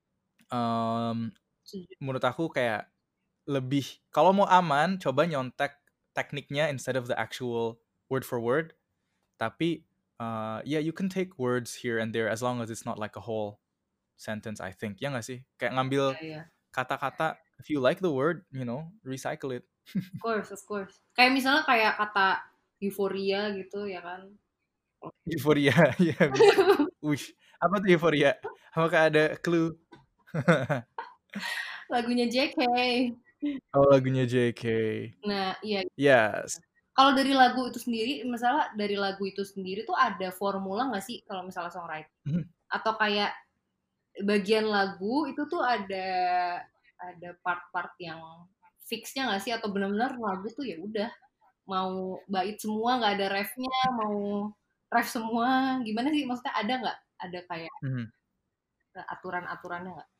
Setuju. menurut aku kayak lebih, kalau mau aman coba nyontek tekniknya instead of the actual word for word. Tapi yeah, you can take words here and there as long as it's not like a whole sentence, I think. Ya nggak sih? Kayak ngambil Iya, iya. kata-kata, if you like the word, recycle it. Of course. Kayak misalnya kayak kata euforia gitu ya kan. Euphoria, ya bisa. Wish. Apa tuh euforia? Apakah ada clue? Lagunya JK. Oh, lagunya JK. Nah, iya. Yes. Kalau dari lagu itu sendiri, misalnya dari lagu itu sendiri tuh ada formula nggak sih kalau misalnya songwriting? Mhm. Atau kayak bagian lagu itu tuh ada part-part yang fixnya nggak sih? Atau benar-benar lagu tuh ya udah mau bait semua nggak ada refnya, mau ref semua, gimana sih? Maksudnya ada nggak? Ada kayak Mhm. aturan-aturannya nggak?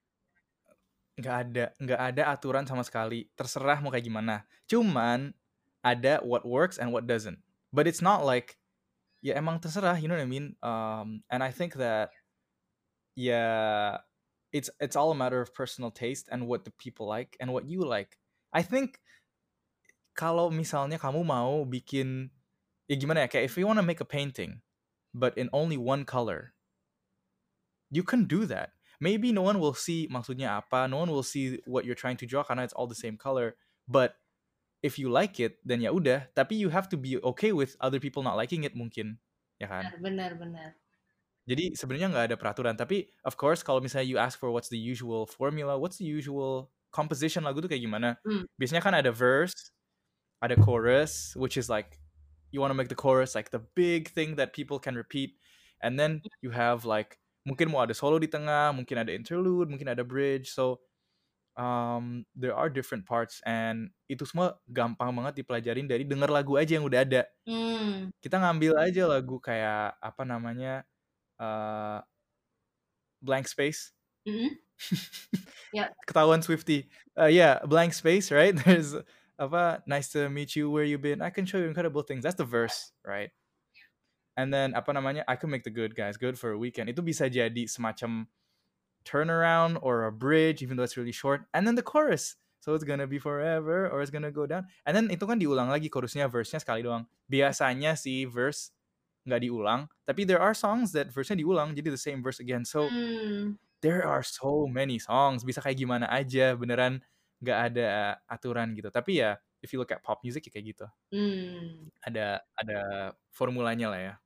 Nggak ada aturan sama sekali. Terserah mau kayak gimana. Cuman ada what works and what doesn't. But it's not like, ya emang terserah, you know what I mean? And I think that, yeah, it's all a matter of personal taste and what the people like and what you like. I think kalau misalnya kamu mau bikin, ya gimana ya, kayak if you want to make a painting but in only one color, you can do that. Maybe no one will see maksudnya apa, no one will see what you're trying to draw karena it's all the same color. But if you like it, then ya udah. Tapi you have to be okay with other people not liking it mungkin, ya kan? Benar. Jadi sebenarnya nggak ada peraturan. Tapi of course kalau misalnya you ask for what's the usual formula, what's the usual composition lagu tuh kayak gimana? Hmm. Biasanya kan ada verse, ada chorus, which is like you want to make the chorus like the big thing that people can repeat, and then you have like mungkin mau ada solo di tengah, mungkin ada interlude, mungkin ada bridge. So there are different parts, and itu semua gampang banget dipelajarin dari denger lagu aja yang udah ada. Hmm. Kita ngambil aja lagu kayak apa namanya, Blank Space. Mm-mm. Ya. Ketahuan Swiftie. Yeah, Blank Space, right? There's apa, nice to meet you, where you been, I can show you incredible things. That's the verse, right? And then apa namanya, I can make the good guys good for a weekend. Itu bisa jadi semacam turnaround or a bridge, even though it's really short. And then the chorus, so it's gonna be forever or it's gonna go down. And then itu kan diulang lagi chorusnya, verse-nya sekali doang. Biasanya sih verse nggak diulang, tapi there are songs that verse-nya diulang, jadi the same verse again. So there are so many songs, bisa kayak gimana aja, beneran nggak ada aturan gitu. Tapi ya, if you look at pop music ya kayak gitu. Ada formulanya lah ya.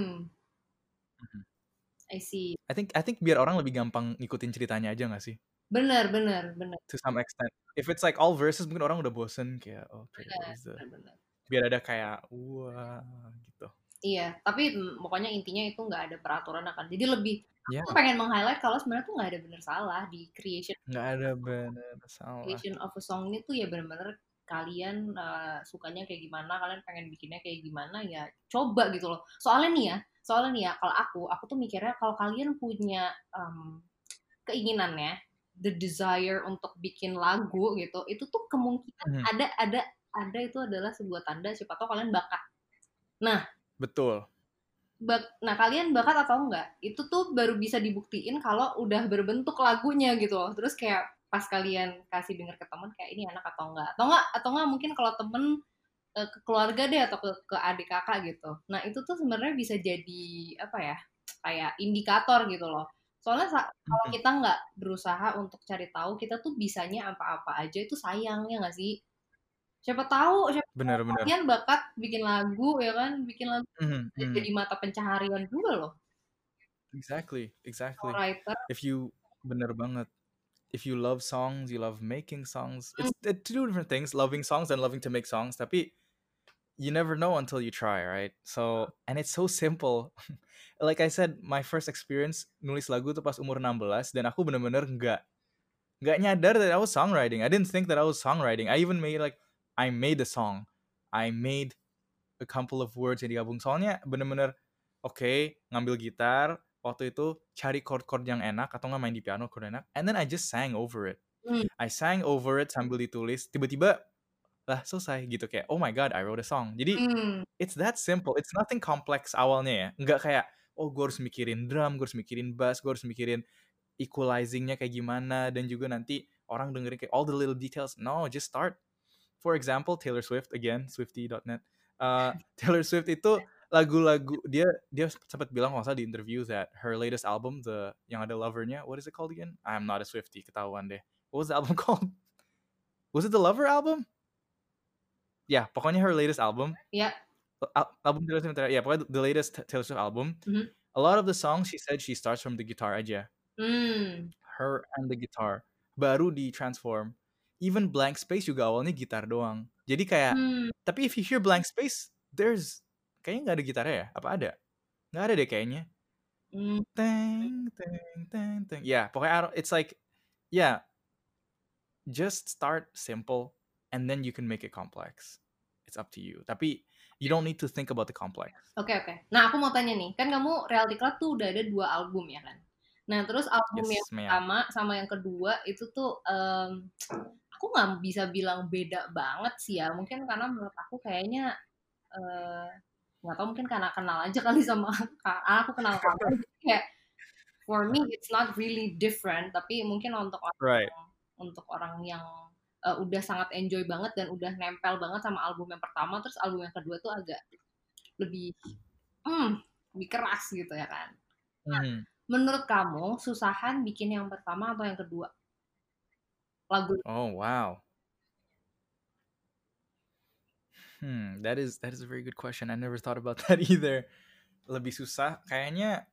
I see. I think biar orang lebih gampang ngikutin ceritanya aja nggak sih? Benar. To some extent. If it's like all verses, mungkin orang udah bosen kayak, okay, what is the... Benar. Biar ada kayak, wah, gitu. Iya, tapi pokoknya intinya itu nggak ada peraturan akan. Jadi lebih, Yeah. aku pengen meng-highlight kalau sebenarnya tuh nggak ada benar salah di creation. Nggak ada benar salah. Creation of a song ini tuh ya benar-benar kalian sukanya kayak gimana, kalian pengen bikinnya kayak gimana, ya coba gitu loh. Soalnya nih ya, kalau aku tuh mikirnya kalau kalian punya keinginannya, the desire untuk bikin lagu gitu, itu tuh kemungkinan ada itu adalah sebuah tanda siapa tahu kalian bakat. Nah, betul. Nah, kalian bakat atau enggak? Itu tuh baru bisa dibuktiin kalau udah berbentuk lagunya gitu loh. Terus kayak pas kalian kasih denger ke temen kayak ini enak atau enggak. Atau enggak mungkin kalau temen ke keluarga deh atau ke adik kakak gitu. Nah, itu tuh sebenarnya bisa jadi apa ya? Kayak indikator gitu loh. Soalnya kalau kita nggak berusaha untuk cari tahu, kita tuh bisanya apa-apa aja itu sayang ya nggak sih? Siapa tahu Benar. kalian bakat bikin lagu ya kan, bikin lagu jadi mata pencaharian juga loh. Exactly. Writer. Bener banget. If you love songs, you love making songs. It's two different things, loving songs and loving to make songs. Tapi you never know until you try, right? So, and it's so simple. Like I said, my first experience nulis lagu tuh pas umur 16, dan aku bener-bener nggak nyadar that I was songwriting. I didn't think that I was songwriting. I even made a song. I made a couple of words yang digabung. Soalnya bener-bener oke, ngambil gitar, waktu itu cari chord-chord yang enak atau nggak main di piano chord enak, and then I just sang over it. Hmm. I sang over it sambil ditulis, tiba-tiba lah selesai gitu, kayak oh my god, I wrote a song. Jadi Hmm. it's that simple. It's nothing complex awalnya ya. Nggak kayak oh gue harus mikirin drum, gue harus mikirin bass, gue harus mikirin equalizingnya kayak gimana, dan juga nanti orang dengerin kayak all the little details. No, just start. For example, Taylor Swift again, Swiftie.net. Taylor Swift itu lagu-lagu dia sempat bilang masa di interview that her latest album, the yang ada Lover-nya, what is it called again? I'm not a Swiftie, ketahuan deh. What was the album called? Was it the Lover album? Ya, pokoknya her latest album. Ya. Album Taylor Swift, ya pokoknya the latest Taylor Swift album. Mhm. A lot of the songs she said she starts from the guitar aja. Her and the guitar. Baru di transform. Even Blank Space juga awalnya gitar doang. Jadi kayak, tapi if you hear Blank Space, kayaknya nggak ada gitarnya ya? Apa ada? Nggak ada deh kayaknya. Teng, teng, teng, teng. Yeah, pokoknya it's like, yeah, just start simple and then you can make it complex. It's up to you. Tapi you don't need to think about the complex. Oke. Nah, aku mau tanya nih, kan kamu Reality Club tuh udah ada 2 album ya kan? Nah, terus album Yes, yang ma'am. pertama sama yang kedua itu tuh aku nggak bisa bilang beda banget sih ya. Mungkin karena menurut aku kayaknya nggak tahu, mungkin karena kenal aja kali sama aku kenal kamu. Kayak for me it's not really different, tapi mungkin untuk Right. orang yang udah sangat enjoy banget dan udah nempel banget sama album yang pertama, terus album yang kedua tuh agak lebih keras gitu ya kan. Menurut kamu susahan bikin yang pertama atau yang kedua lagu? Oh wow. That is a very good question. I never thought about that either. Lebih susah kayaknya.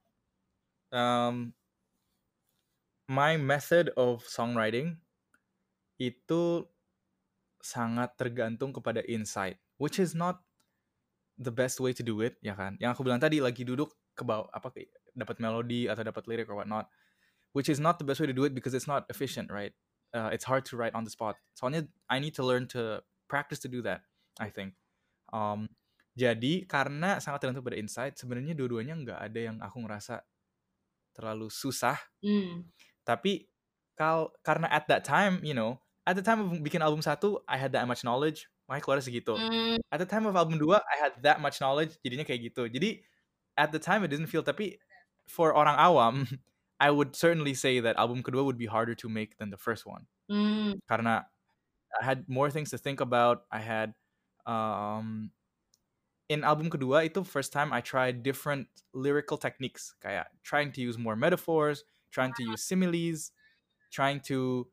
My method of songwriting itu sangat tergantung kepada insight, which is not the best way to do it, ya kan? Yang aku bilang tadi, lagi duduk ke bawah dapat melodi atau dapat lirik or whatnot, which is not the best way to do it because it's not efficient, right? It's hard to write on the spot. Soalnya I need to learn to practice to do that, I think. Jadi karena sangat tergantung pada insight, sebenarnya dua-duanya nggak ada yang aku ngerasa terlalu susah. Tapi karena at that time, at the time of bikin album 1, I had that much knowledge, makanya keluar segitu. At the time of album 2, I had that much knowledge, jadinya kayak gitu. Jadi at the time it didn't feel, tapi for orang awam, I would certainly say that album kedua would be harder to make than the first one. Karena I had more things to think about. I had in album kedua itu first time I tried different lyrical techniques, kayak trying to use more metaphors, trying to use similes, trying to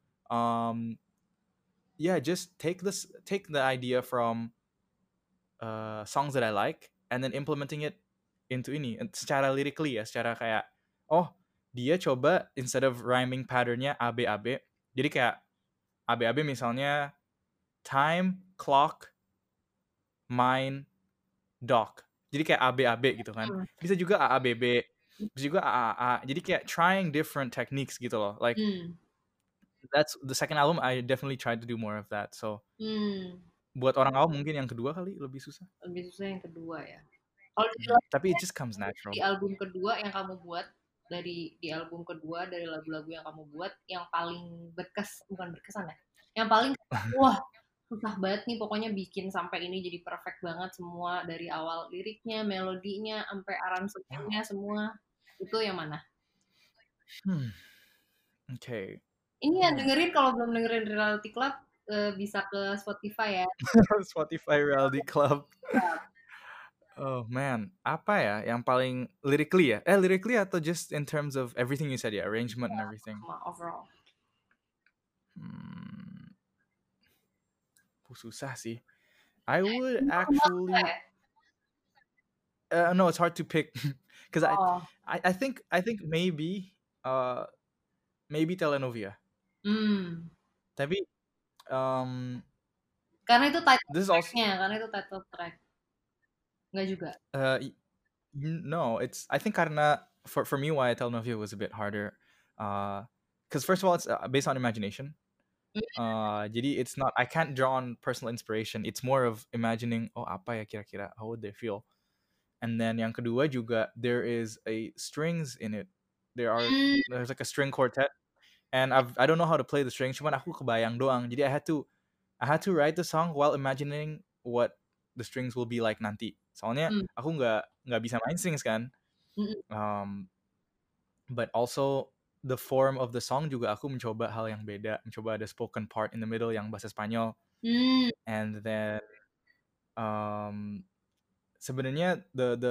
just take the idea from songs that I like and then implementing it into ini secara lyrically ya, secara kayak dia coba instead of rhyming patternnya ABAB, jadi kayak ABAB misalnya time, clock, mine, doc. Jadi kayak ABAB gitu kan. Bisa juga AABB, bisa juga AAA. Jadi kayak trying different techniques gitu loh. Like that's the second album I definitely tried to do more of that. So buat orang awam mungkin yang kedua kali lebih susah. Lebih susah yang kedua ya. Kalau tapi it just comes natural. Di album kedua yang kamu buat, dari lagu-lagu yang kamu buat, yang paling bukan berkesan ya, yang paling wah susah banget nih pokoknya bikin sampai ini jadi perfect banget semua, dari awal liriknya, melodinya, sampai aransemennya semua, itu yang mana? Okay. Ini yang dengerin, kalau belum dengerin Reality Club bisa ke Spotify ya. Spotify Reality Club. Oh man, apa ya yang paling lyrically ya? Lyrically atau just in terms of everything you said ya, arrangement and everything? Overall. Susah sih. I would actually no, it's hard to pick because I think maybe Telenovia. Tapi karena itu title track. Enggak juga. No, I think karena for me why Telenovia was a bit harder, because first of all it's based on imagination. Jadi it's not, I can't draw on personal inspiration. It's more of imagining apa ya kira-kira, how would they feel. And then yang kedua juga there is a strings in it. There's like a string quartet, and I don't know how to play the strings, cuman aku kebayang doang. Jadi I had to write the song while imagining what the strings will be like nanti. Soalnya aku nggak bisa main strings kan. But also the form of the song juga aku mencoba hal yang beda, mencoba ada spoken part in the middle yang bahasa Spanyol. And then sebenarnya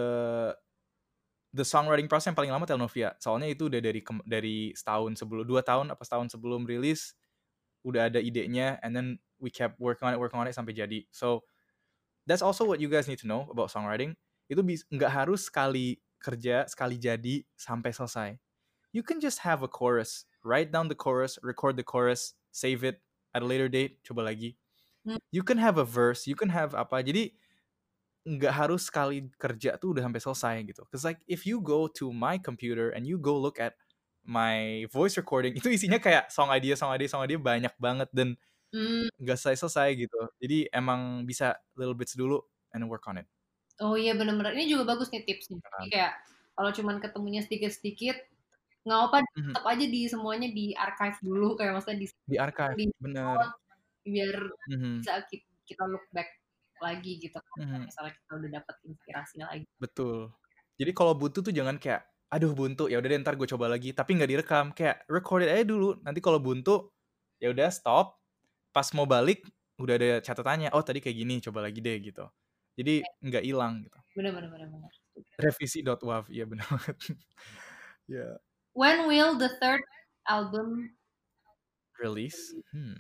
the songwriting process yang paling lama Telnovia. Soalnya itu udah dari setahun sebelum 2 tahun apa setahun sebelum rilis udah ada idenya, and then we kept working on it sampai jadi. So that's also what you guys need to know about songwriting. Itu nggak harus sekali kerja, sekali jadi sampai selesai. You can just have a chorus, write down the chorus, record the chorus, save it at a later date, coba lagi. You can have a verse, you can have apa. Jadi nggak harus sekali kerja tuh udah sampai selesai gitu. Cause like if you go to my computer and you go look at my voice recording, itu isinya kayak song idea banyak banget dan nggak selesai gitu. Jadi emang bisa little bits dulu and work on it. Oh iya benar-benar, ini juga bagus nih tipsnya. Jadi kayak kalau cuman ketemunya sedikit-sedikit nggak apa, tetap aja di semuanya di archive dulu, kayak maksudnya di archive, bener. Biar bisa kita look back lagi gitu kan, misalnya kita udah dapat inspirasi lagi. Betul. Jadi kalau buntu tuh jangan kayak aduh buntu ya udah deh ntar gue coba lagi, tapi nggak direkam, kayak record it aja dulu. Nanti kalau buntu ya udah stop, pas mau balik udah ada catatannya, oh tadi kayak gini, coba lagi deh gitu. Jadi nggak hilang gitu. Benar. Revisi.wav, iya benar banget. Yeah. When will the third album release?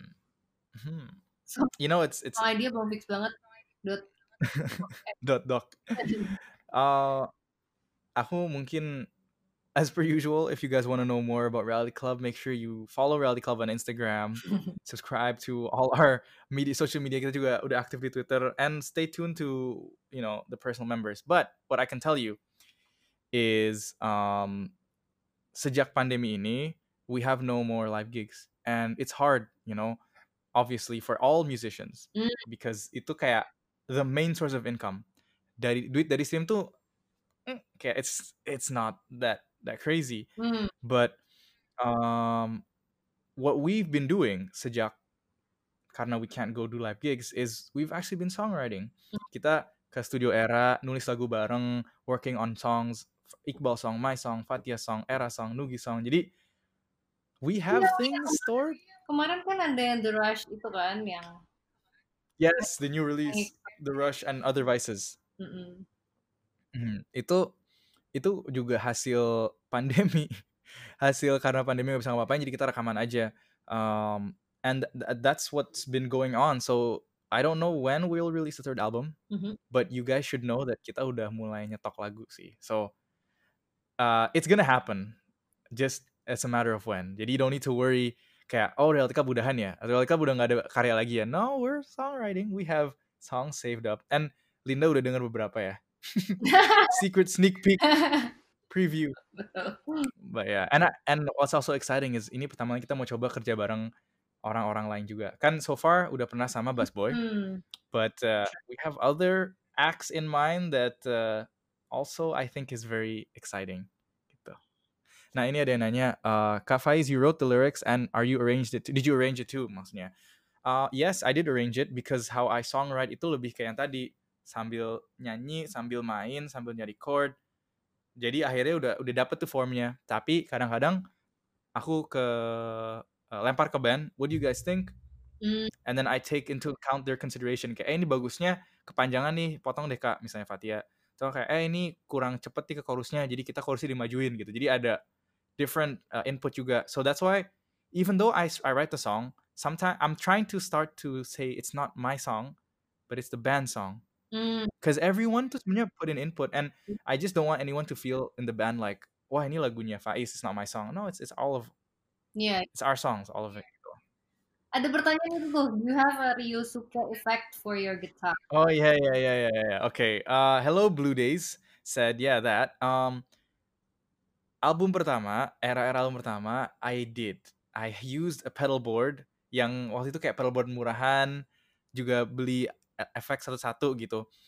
So, you know it's idea belum fix banget. Doc. Aku mungkin as per usual, if you guys want to know more about Reality Club, make sure you follow Reality Club on Instagram, subscribe to all our social media, kita juga udah aktif di Twitter, and stay tuned to the personal members. But what I can tell you is sejak pandemi ini we have no more live gigs, and it's hard, obviously for all musicians, because itu kayak the main source of income. Duit dari stream tuh kayak it's not that crazy. But what we've been doing sejak karena we can't go do live gigs is we've actually been songwriting. Kita ke Studio Era, nulis lagu bareng, working on songs, Iqbal song, my song, Fatia song, Era song, Nugi song. Jadi we have things stored. Kemarin kan ada yang The Rush itu kan yang yes, the new release, The Rush and Other Vices. Itu juga hasil pandemi. Hasil karena pandemi gak bisa ngapain, jadi kita rekaman aja. And that's what's been going on. So I don't know when we'll release the third album, but you guys should know that kita udah mulai nyetok lagu sih. So it's gonna happen, just as a matter of when. Jadi you don't need to worry kayak Reality Club udahan ya, Reality Club udah gak ada karya lagi ya. No, we're songwriting. We have songs saved up. And Linda udah denger beberapa ya. Secret sneak peek preview. But yeah, and what's also exciting is ini pertama kita mau coba kerja bareng orang-orang lain juga. Kan so far udah pernah sama Busboy, but we have other acts in mind that also I think is very exciting. Gitu. Nah ini ada yang nanya, Kak Faiz, you wrote the lyrics and did you arrange it too? Maksudnya, yes, I did arrange it because how I songwrite itu lebih kayak yang tadi, sambil nyanyi, sambil main, sambil nyari chord. Jadi akhirnya udah dapet tuh formnya. Tapi kadang-kadang aku lempar ke band, what do you guys think? And then I take into account their consideration. Kayak ini bagusnya kepanjangan nih, potong deh Kak, misalnya Fatia. So kayak ini kurang cepet nih ke chorusnya, jadi kita chorusnya dimajuin gitu. Jadi ada different input juga. So that's why even though I write the song, sometimes I'm trying to start to say it's not my song, but it's the band song. Because everyone tuh sebenarnya put in input, and I just don't want anyone to feel in the band like, wah ini lagunya Faiz, it's not my song. No, it's all of it's our songs, all of it. Ada pertanyaan itu tuh, do you have a Ryosuke effect for your guitar? Oh yeah. Okay. Hello Blue Days said that. Album pertama, era album pertama, I used a pedal board yang waktu itu kayak pedal board murahan, juga beli efek satu-satu gitu.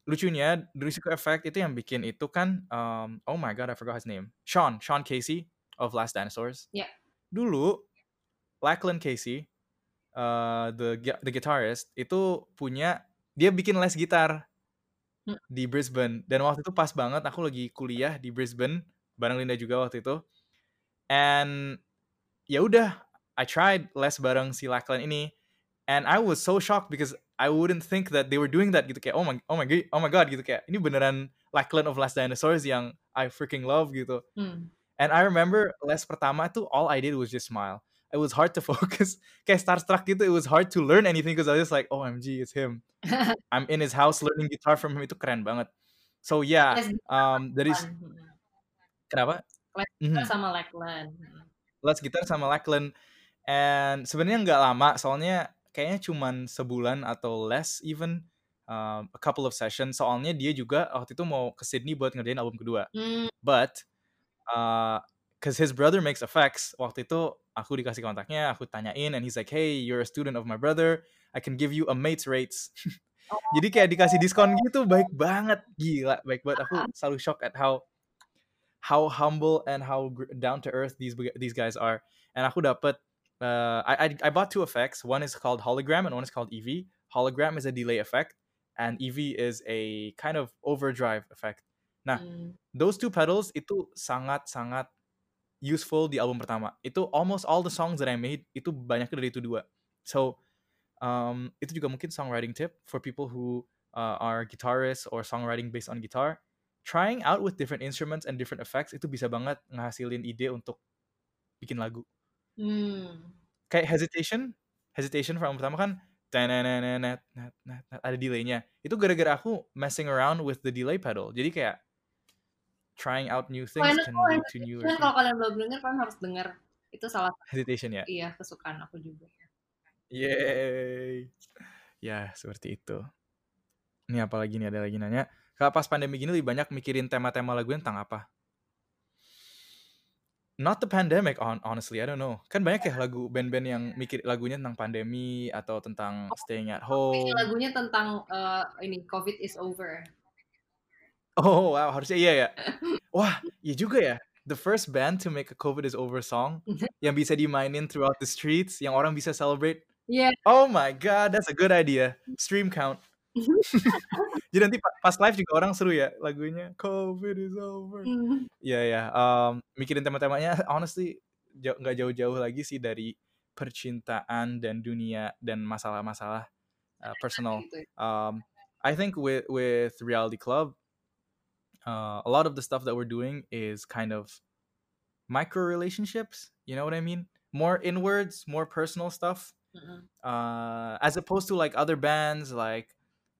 lucunya The Risiko Effect itu yang bikin itu kan oh my god I forgot his name. Sean Casey of Last Dinosaurs. Ya. Dulu Lachlan Casey the guitarist itu dia bikin les gitar di Brisbane, dan waktu itu pas banget aku lagi kuliah di Brisbane bareng Linda juga waktu itu. And ya udah, I tried les bareng si Lachlan ini, and I was so shocked because I wouldn't think that they were doing that gitu, kayak oh my god gitu, kayak ini beneran Lachlan of Last Dinosaurs yang I freaking love gitu. And I remember les pertama tuh all I did was just smile. It was hard to focus. Kayak starstruck gitu. It was hard to learn anything because I was just like, OMG, it's him. I'm in his house learning guitar from him. Itu keren banget. So yeah, dari kenapa? Les gitar sama Lachlan. Les gitar sama Lachlan. And sebenarnya nggak lama, soalnya kayaknya cuman sebulan atau less even, a couple of sessions. Soalnya dia juga waktu itu mau ke Sydney buat ngerjain album kedua. But because his brother makes effects, waktu itu aku dikasih kontaknya, aku tanyain, and he's like, hey, you're a student of my brother, I can give you a mate's rates. Jadi kayak dikasih diskon gitu, baik banget, gila, baik banget. Aku selalu shock at how humble and how down to earth these guys are. And aku dapet, I bought 2 effects. One is called Hologram and one is called EV. Hologram is a delay effect, and EV is a kind of overdrive effect. Nah, those 2 pedals itu sangat-sangat useful di album pertama. Itu almost all the songs that I made itu banyaknya dari itu 2. So itu juga mungkin songwriting tip for people who are guitarists or songwriting based on guitar. Trying out with different instruments and different effects itu bisa banget ngehasilin ide untuk bikin lagu. Kayak Hesitation album pertama kan ada delaynya. Itu gara-gara aku messing around with the delay pedal. Jadi kayak trying out new things can lead to new. Kalau kalian belum denger, kalian harus denger. Itu salah satu Hesitation ya. Iya, kesukaan aku juga. Yay. Ya, seperti itu. Ini apa lagi nih, ada lagi nanya. Kalau pas pandemi gini lebih banyak mikirin tema-tema lagunya tentang apa? Not the pandemic, honestly, I don't know. Kan banyak ya lagu band-band yang mikir lagunya tentang pandemi atau tentang staying at home. Lagunya tentang ini COVID is over. Oh wow, harusnya iya ya. Wah, iya juga ya. The first band to make a COVID is over song yang bisa dimainin throughout the streets, yang orang bisa celebrate. Yeah. Oh my god, that's a good idea. Stream count. Jadi nanti pas live juga orang seru ya lagunya COVID is over. Iya. Mikirin tema-temanya honestly nggak jauh-jauh lagi sih dari percintaan dan dunia dan masalah-masalah personal. I think with Reality Club, a lot of the stuff that we're doing is kind of micro relationships. You know what I mean? More inwards, more personal stuff. As opposed to like other bands like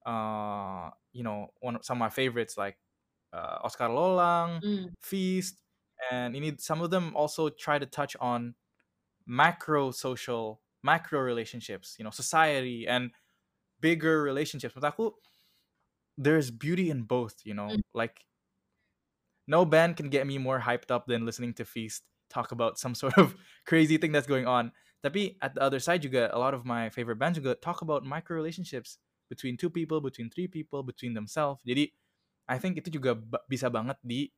some of my favorites like Oscar Lolang, Feast, and some of them also try to touch on macro relationships, society and bigger relationships. Menurut aku, there's beauty in both, like no band can get me more hyped up than listening to Feast talk about some sort of crazy thing that's going on. Tapi at the other side juga, a lot of my favorite bands juga talk about micro relationships between 2 people, between 3 people, between themselves. Jadi I think itu juga bisa banget di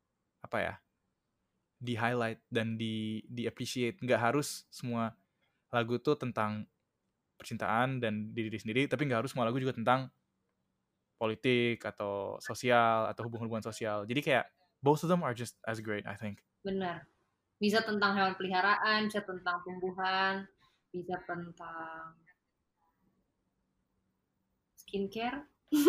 highlight dan di appreciate. Nggak harus semua lagu tuh tentang percintaan dan diri sendiri, tapi nggak harus semua lagu juga tentang politik atau sosial atau hubungan-hubungan sosial. Jadi kayak both of them are just as great, I think. Benar. Bisa tentang hewan peliharaan, bisa tentang tumbuhan, bisa tentang skincare.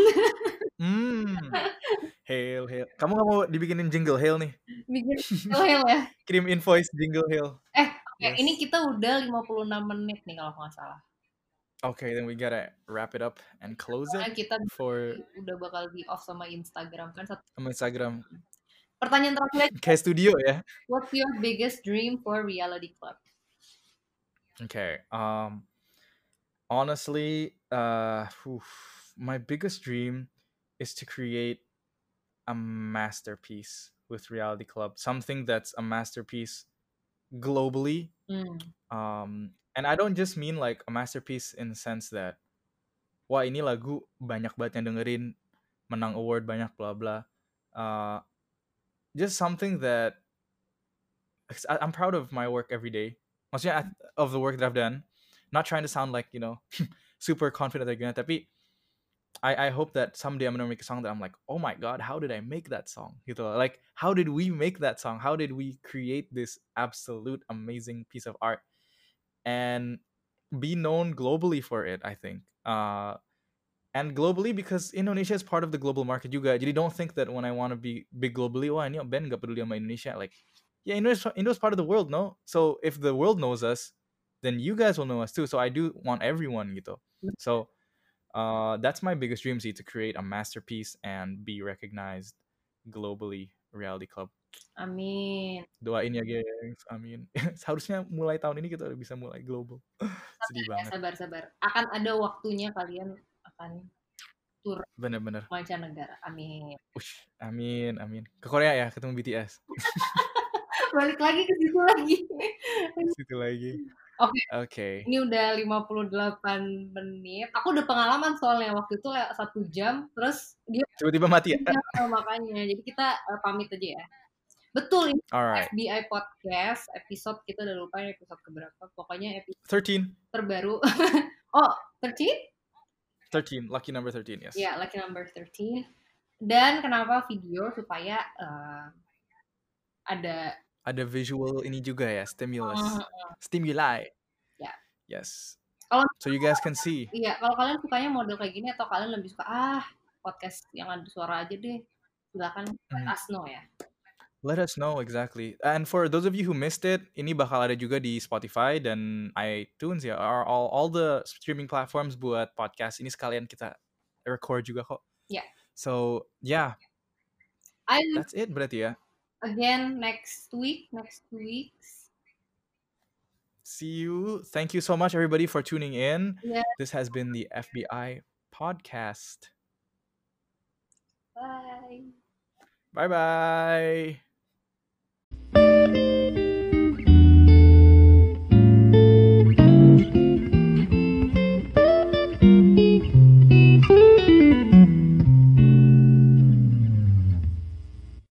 Hail. Kamu nggak mau dibikinin jingle Hail nih? Bikin jingle Hail ya? Kirim invoice jingle Hail. Yes. Ini kita udah 56 menit nih kalau nggak salah. Okay, then we gotta wrap it up and close it. Kita udah bakal di off sama Instagram kan? Sama Instagram. Pertanyaan terakhir. Kayak studio ya. What's your biggest dream for Reality Club? Okay. Honestly, my biggest dream is to create a masterpiece with Reality Club. Something that's a masterpiece globally. And I don't just mean like a masterpiece in the sense that wah ini lagu banyak banget yang dengerin, menang award banyak bla bla. Uh, just something that I'm proud of my work every day. Maksudnya of the work that I've done. Not trying to sound like super confident again, tapi I hope that someday I'm gonna make a song that I'm like, oh my god, how did I make that song? Gitu loh. Like, how did we make that song? How did we create this absolute amazing piece of art and be known globally for it? I think, and globally because Indonesia is part of the global market juga. Jadi don't think that when I want to be big globally, wah ini band gak peduli sama Indonesia. Like, yeah, Indo's part of the world, no? So if the world knows us, then you guys will know us too. So I do want everyone gitu. So that's my biggest dream sih, to create a masterpiece and be recognized globally. Reality Club. Amin. Doain ya gengs, amin. Seharusnya mulai tahun ini kita udah bisa mulai global. Sedih banget. Sabar. Akan ada waktunya kalian akan tur Bener-bener. mancanegara. Amin. Ush, amin. Ke Korea ya, ketemu BTS. Balik lagi ke situ lagi. Situ lagi. Oke. Ini udah 58 menit. Aku udah pengalaman soalnya waktu itu 1 jam, terus dia Tiba-tiba mati ya? makanya. Jadi kita pamit aja ya. Betul, ini Alright. FBI Podcast episode, kita udah lupa ini episode keberapa. Pokoknya episode 13. terbaru. Oh, 13? 13, lucky number 13, yes. Ya, lucky number 13. Dan kenapa video? Supaya ada visual ini juga ya, stimuli. Ya. Yes. Kalau so you guys can see. Iya, kalau kalian sukanya model kayak gini atau kalian lebih suka podcast yang ada suara aja deh, silakan let us know ya. Let us know, exactly. And for those of you who missed it, ini bakal ada juga di Spotify dan iTunes ya, all the streaming platforms buat podcast. Ini sekalian kita record juga kok. Yeah. So, yeah. That's it berarti ya. Again, next 2 weeks. See you. Thank you so much, everybody, for tuning in. Yeah. This has been the FBI Podcast. Bye. Bye-bye.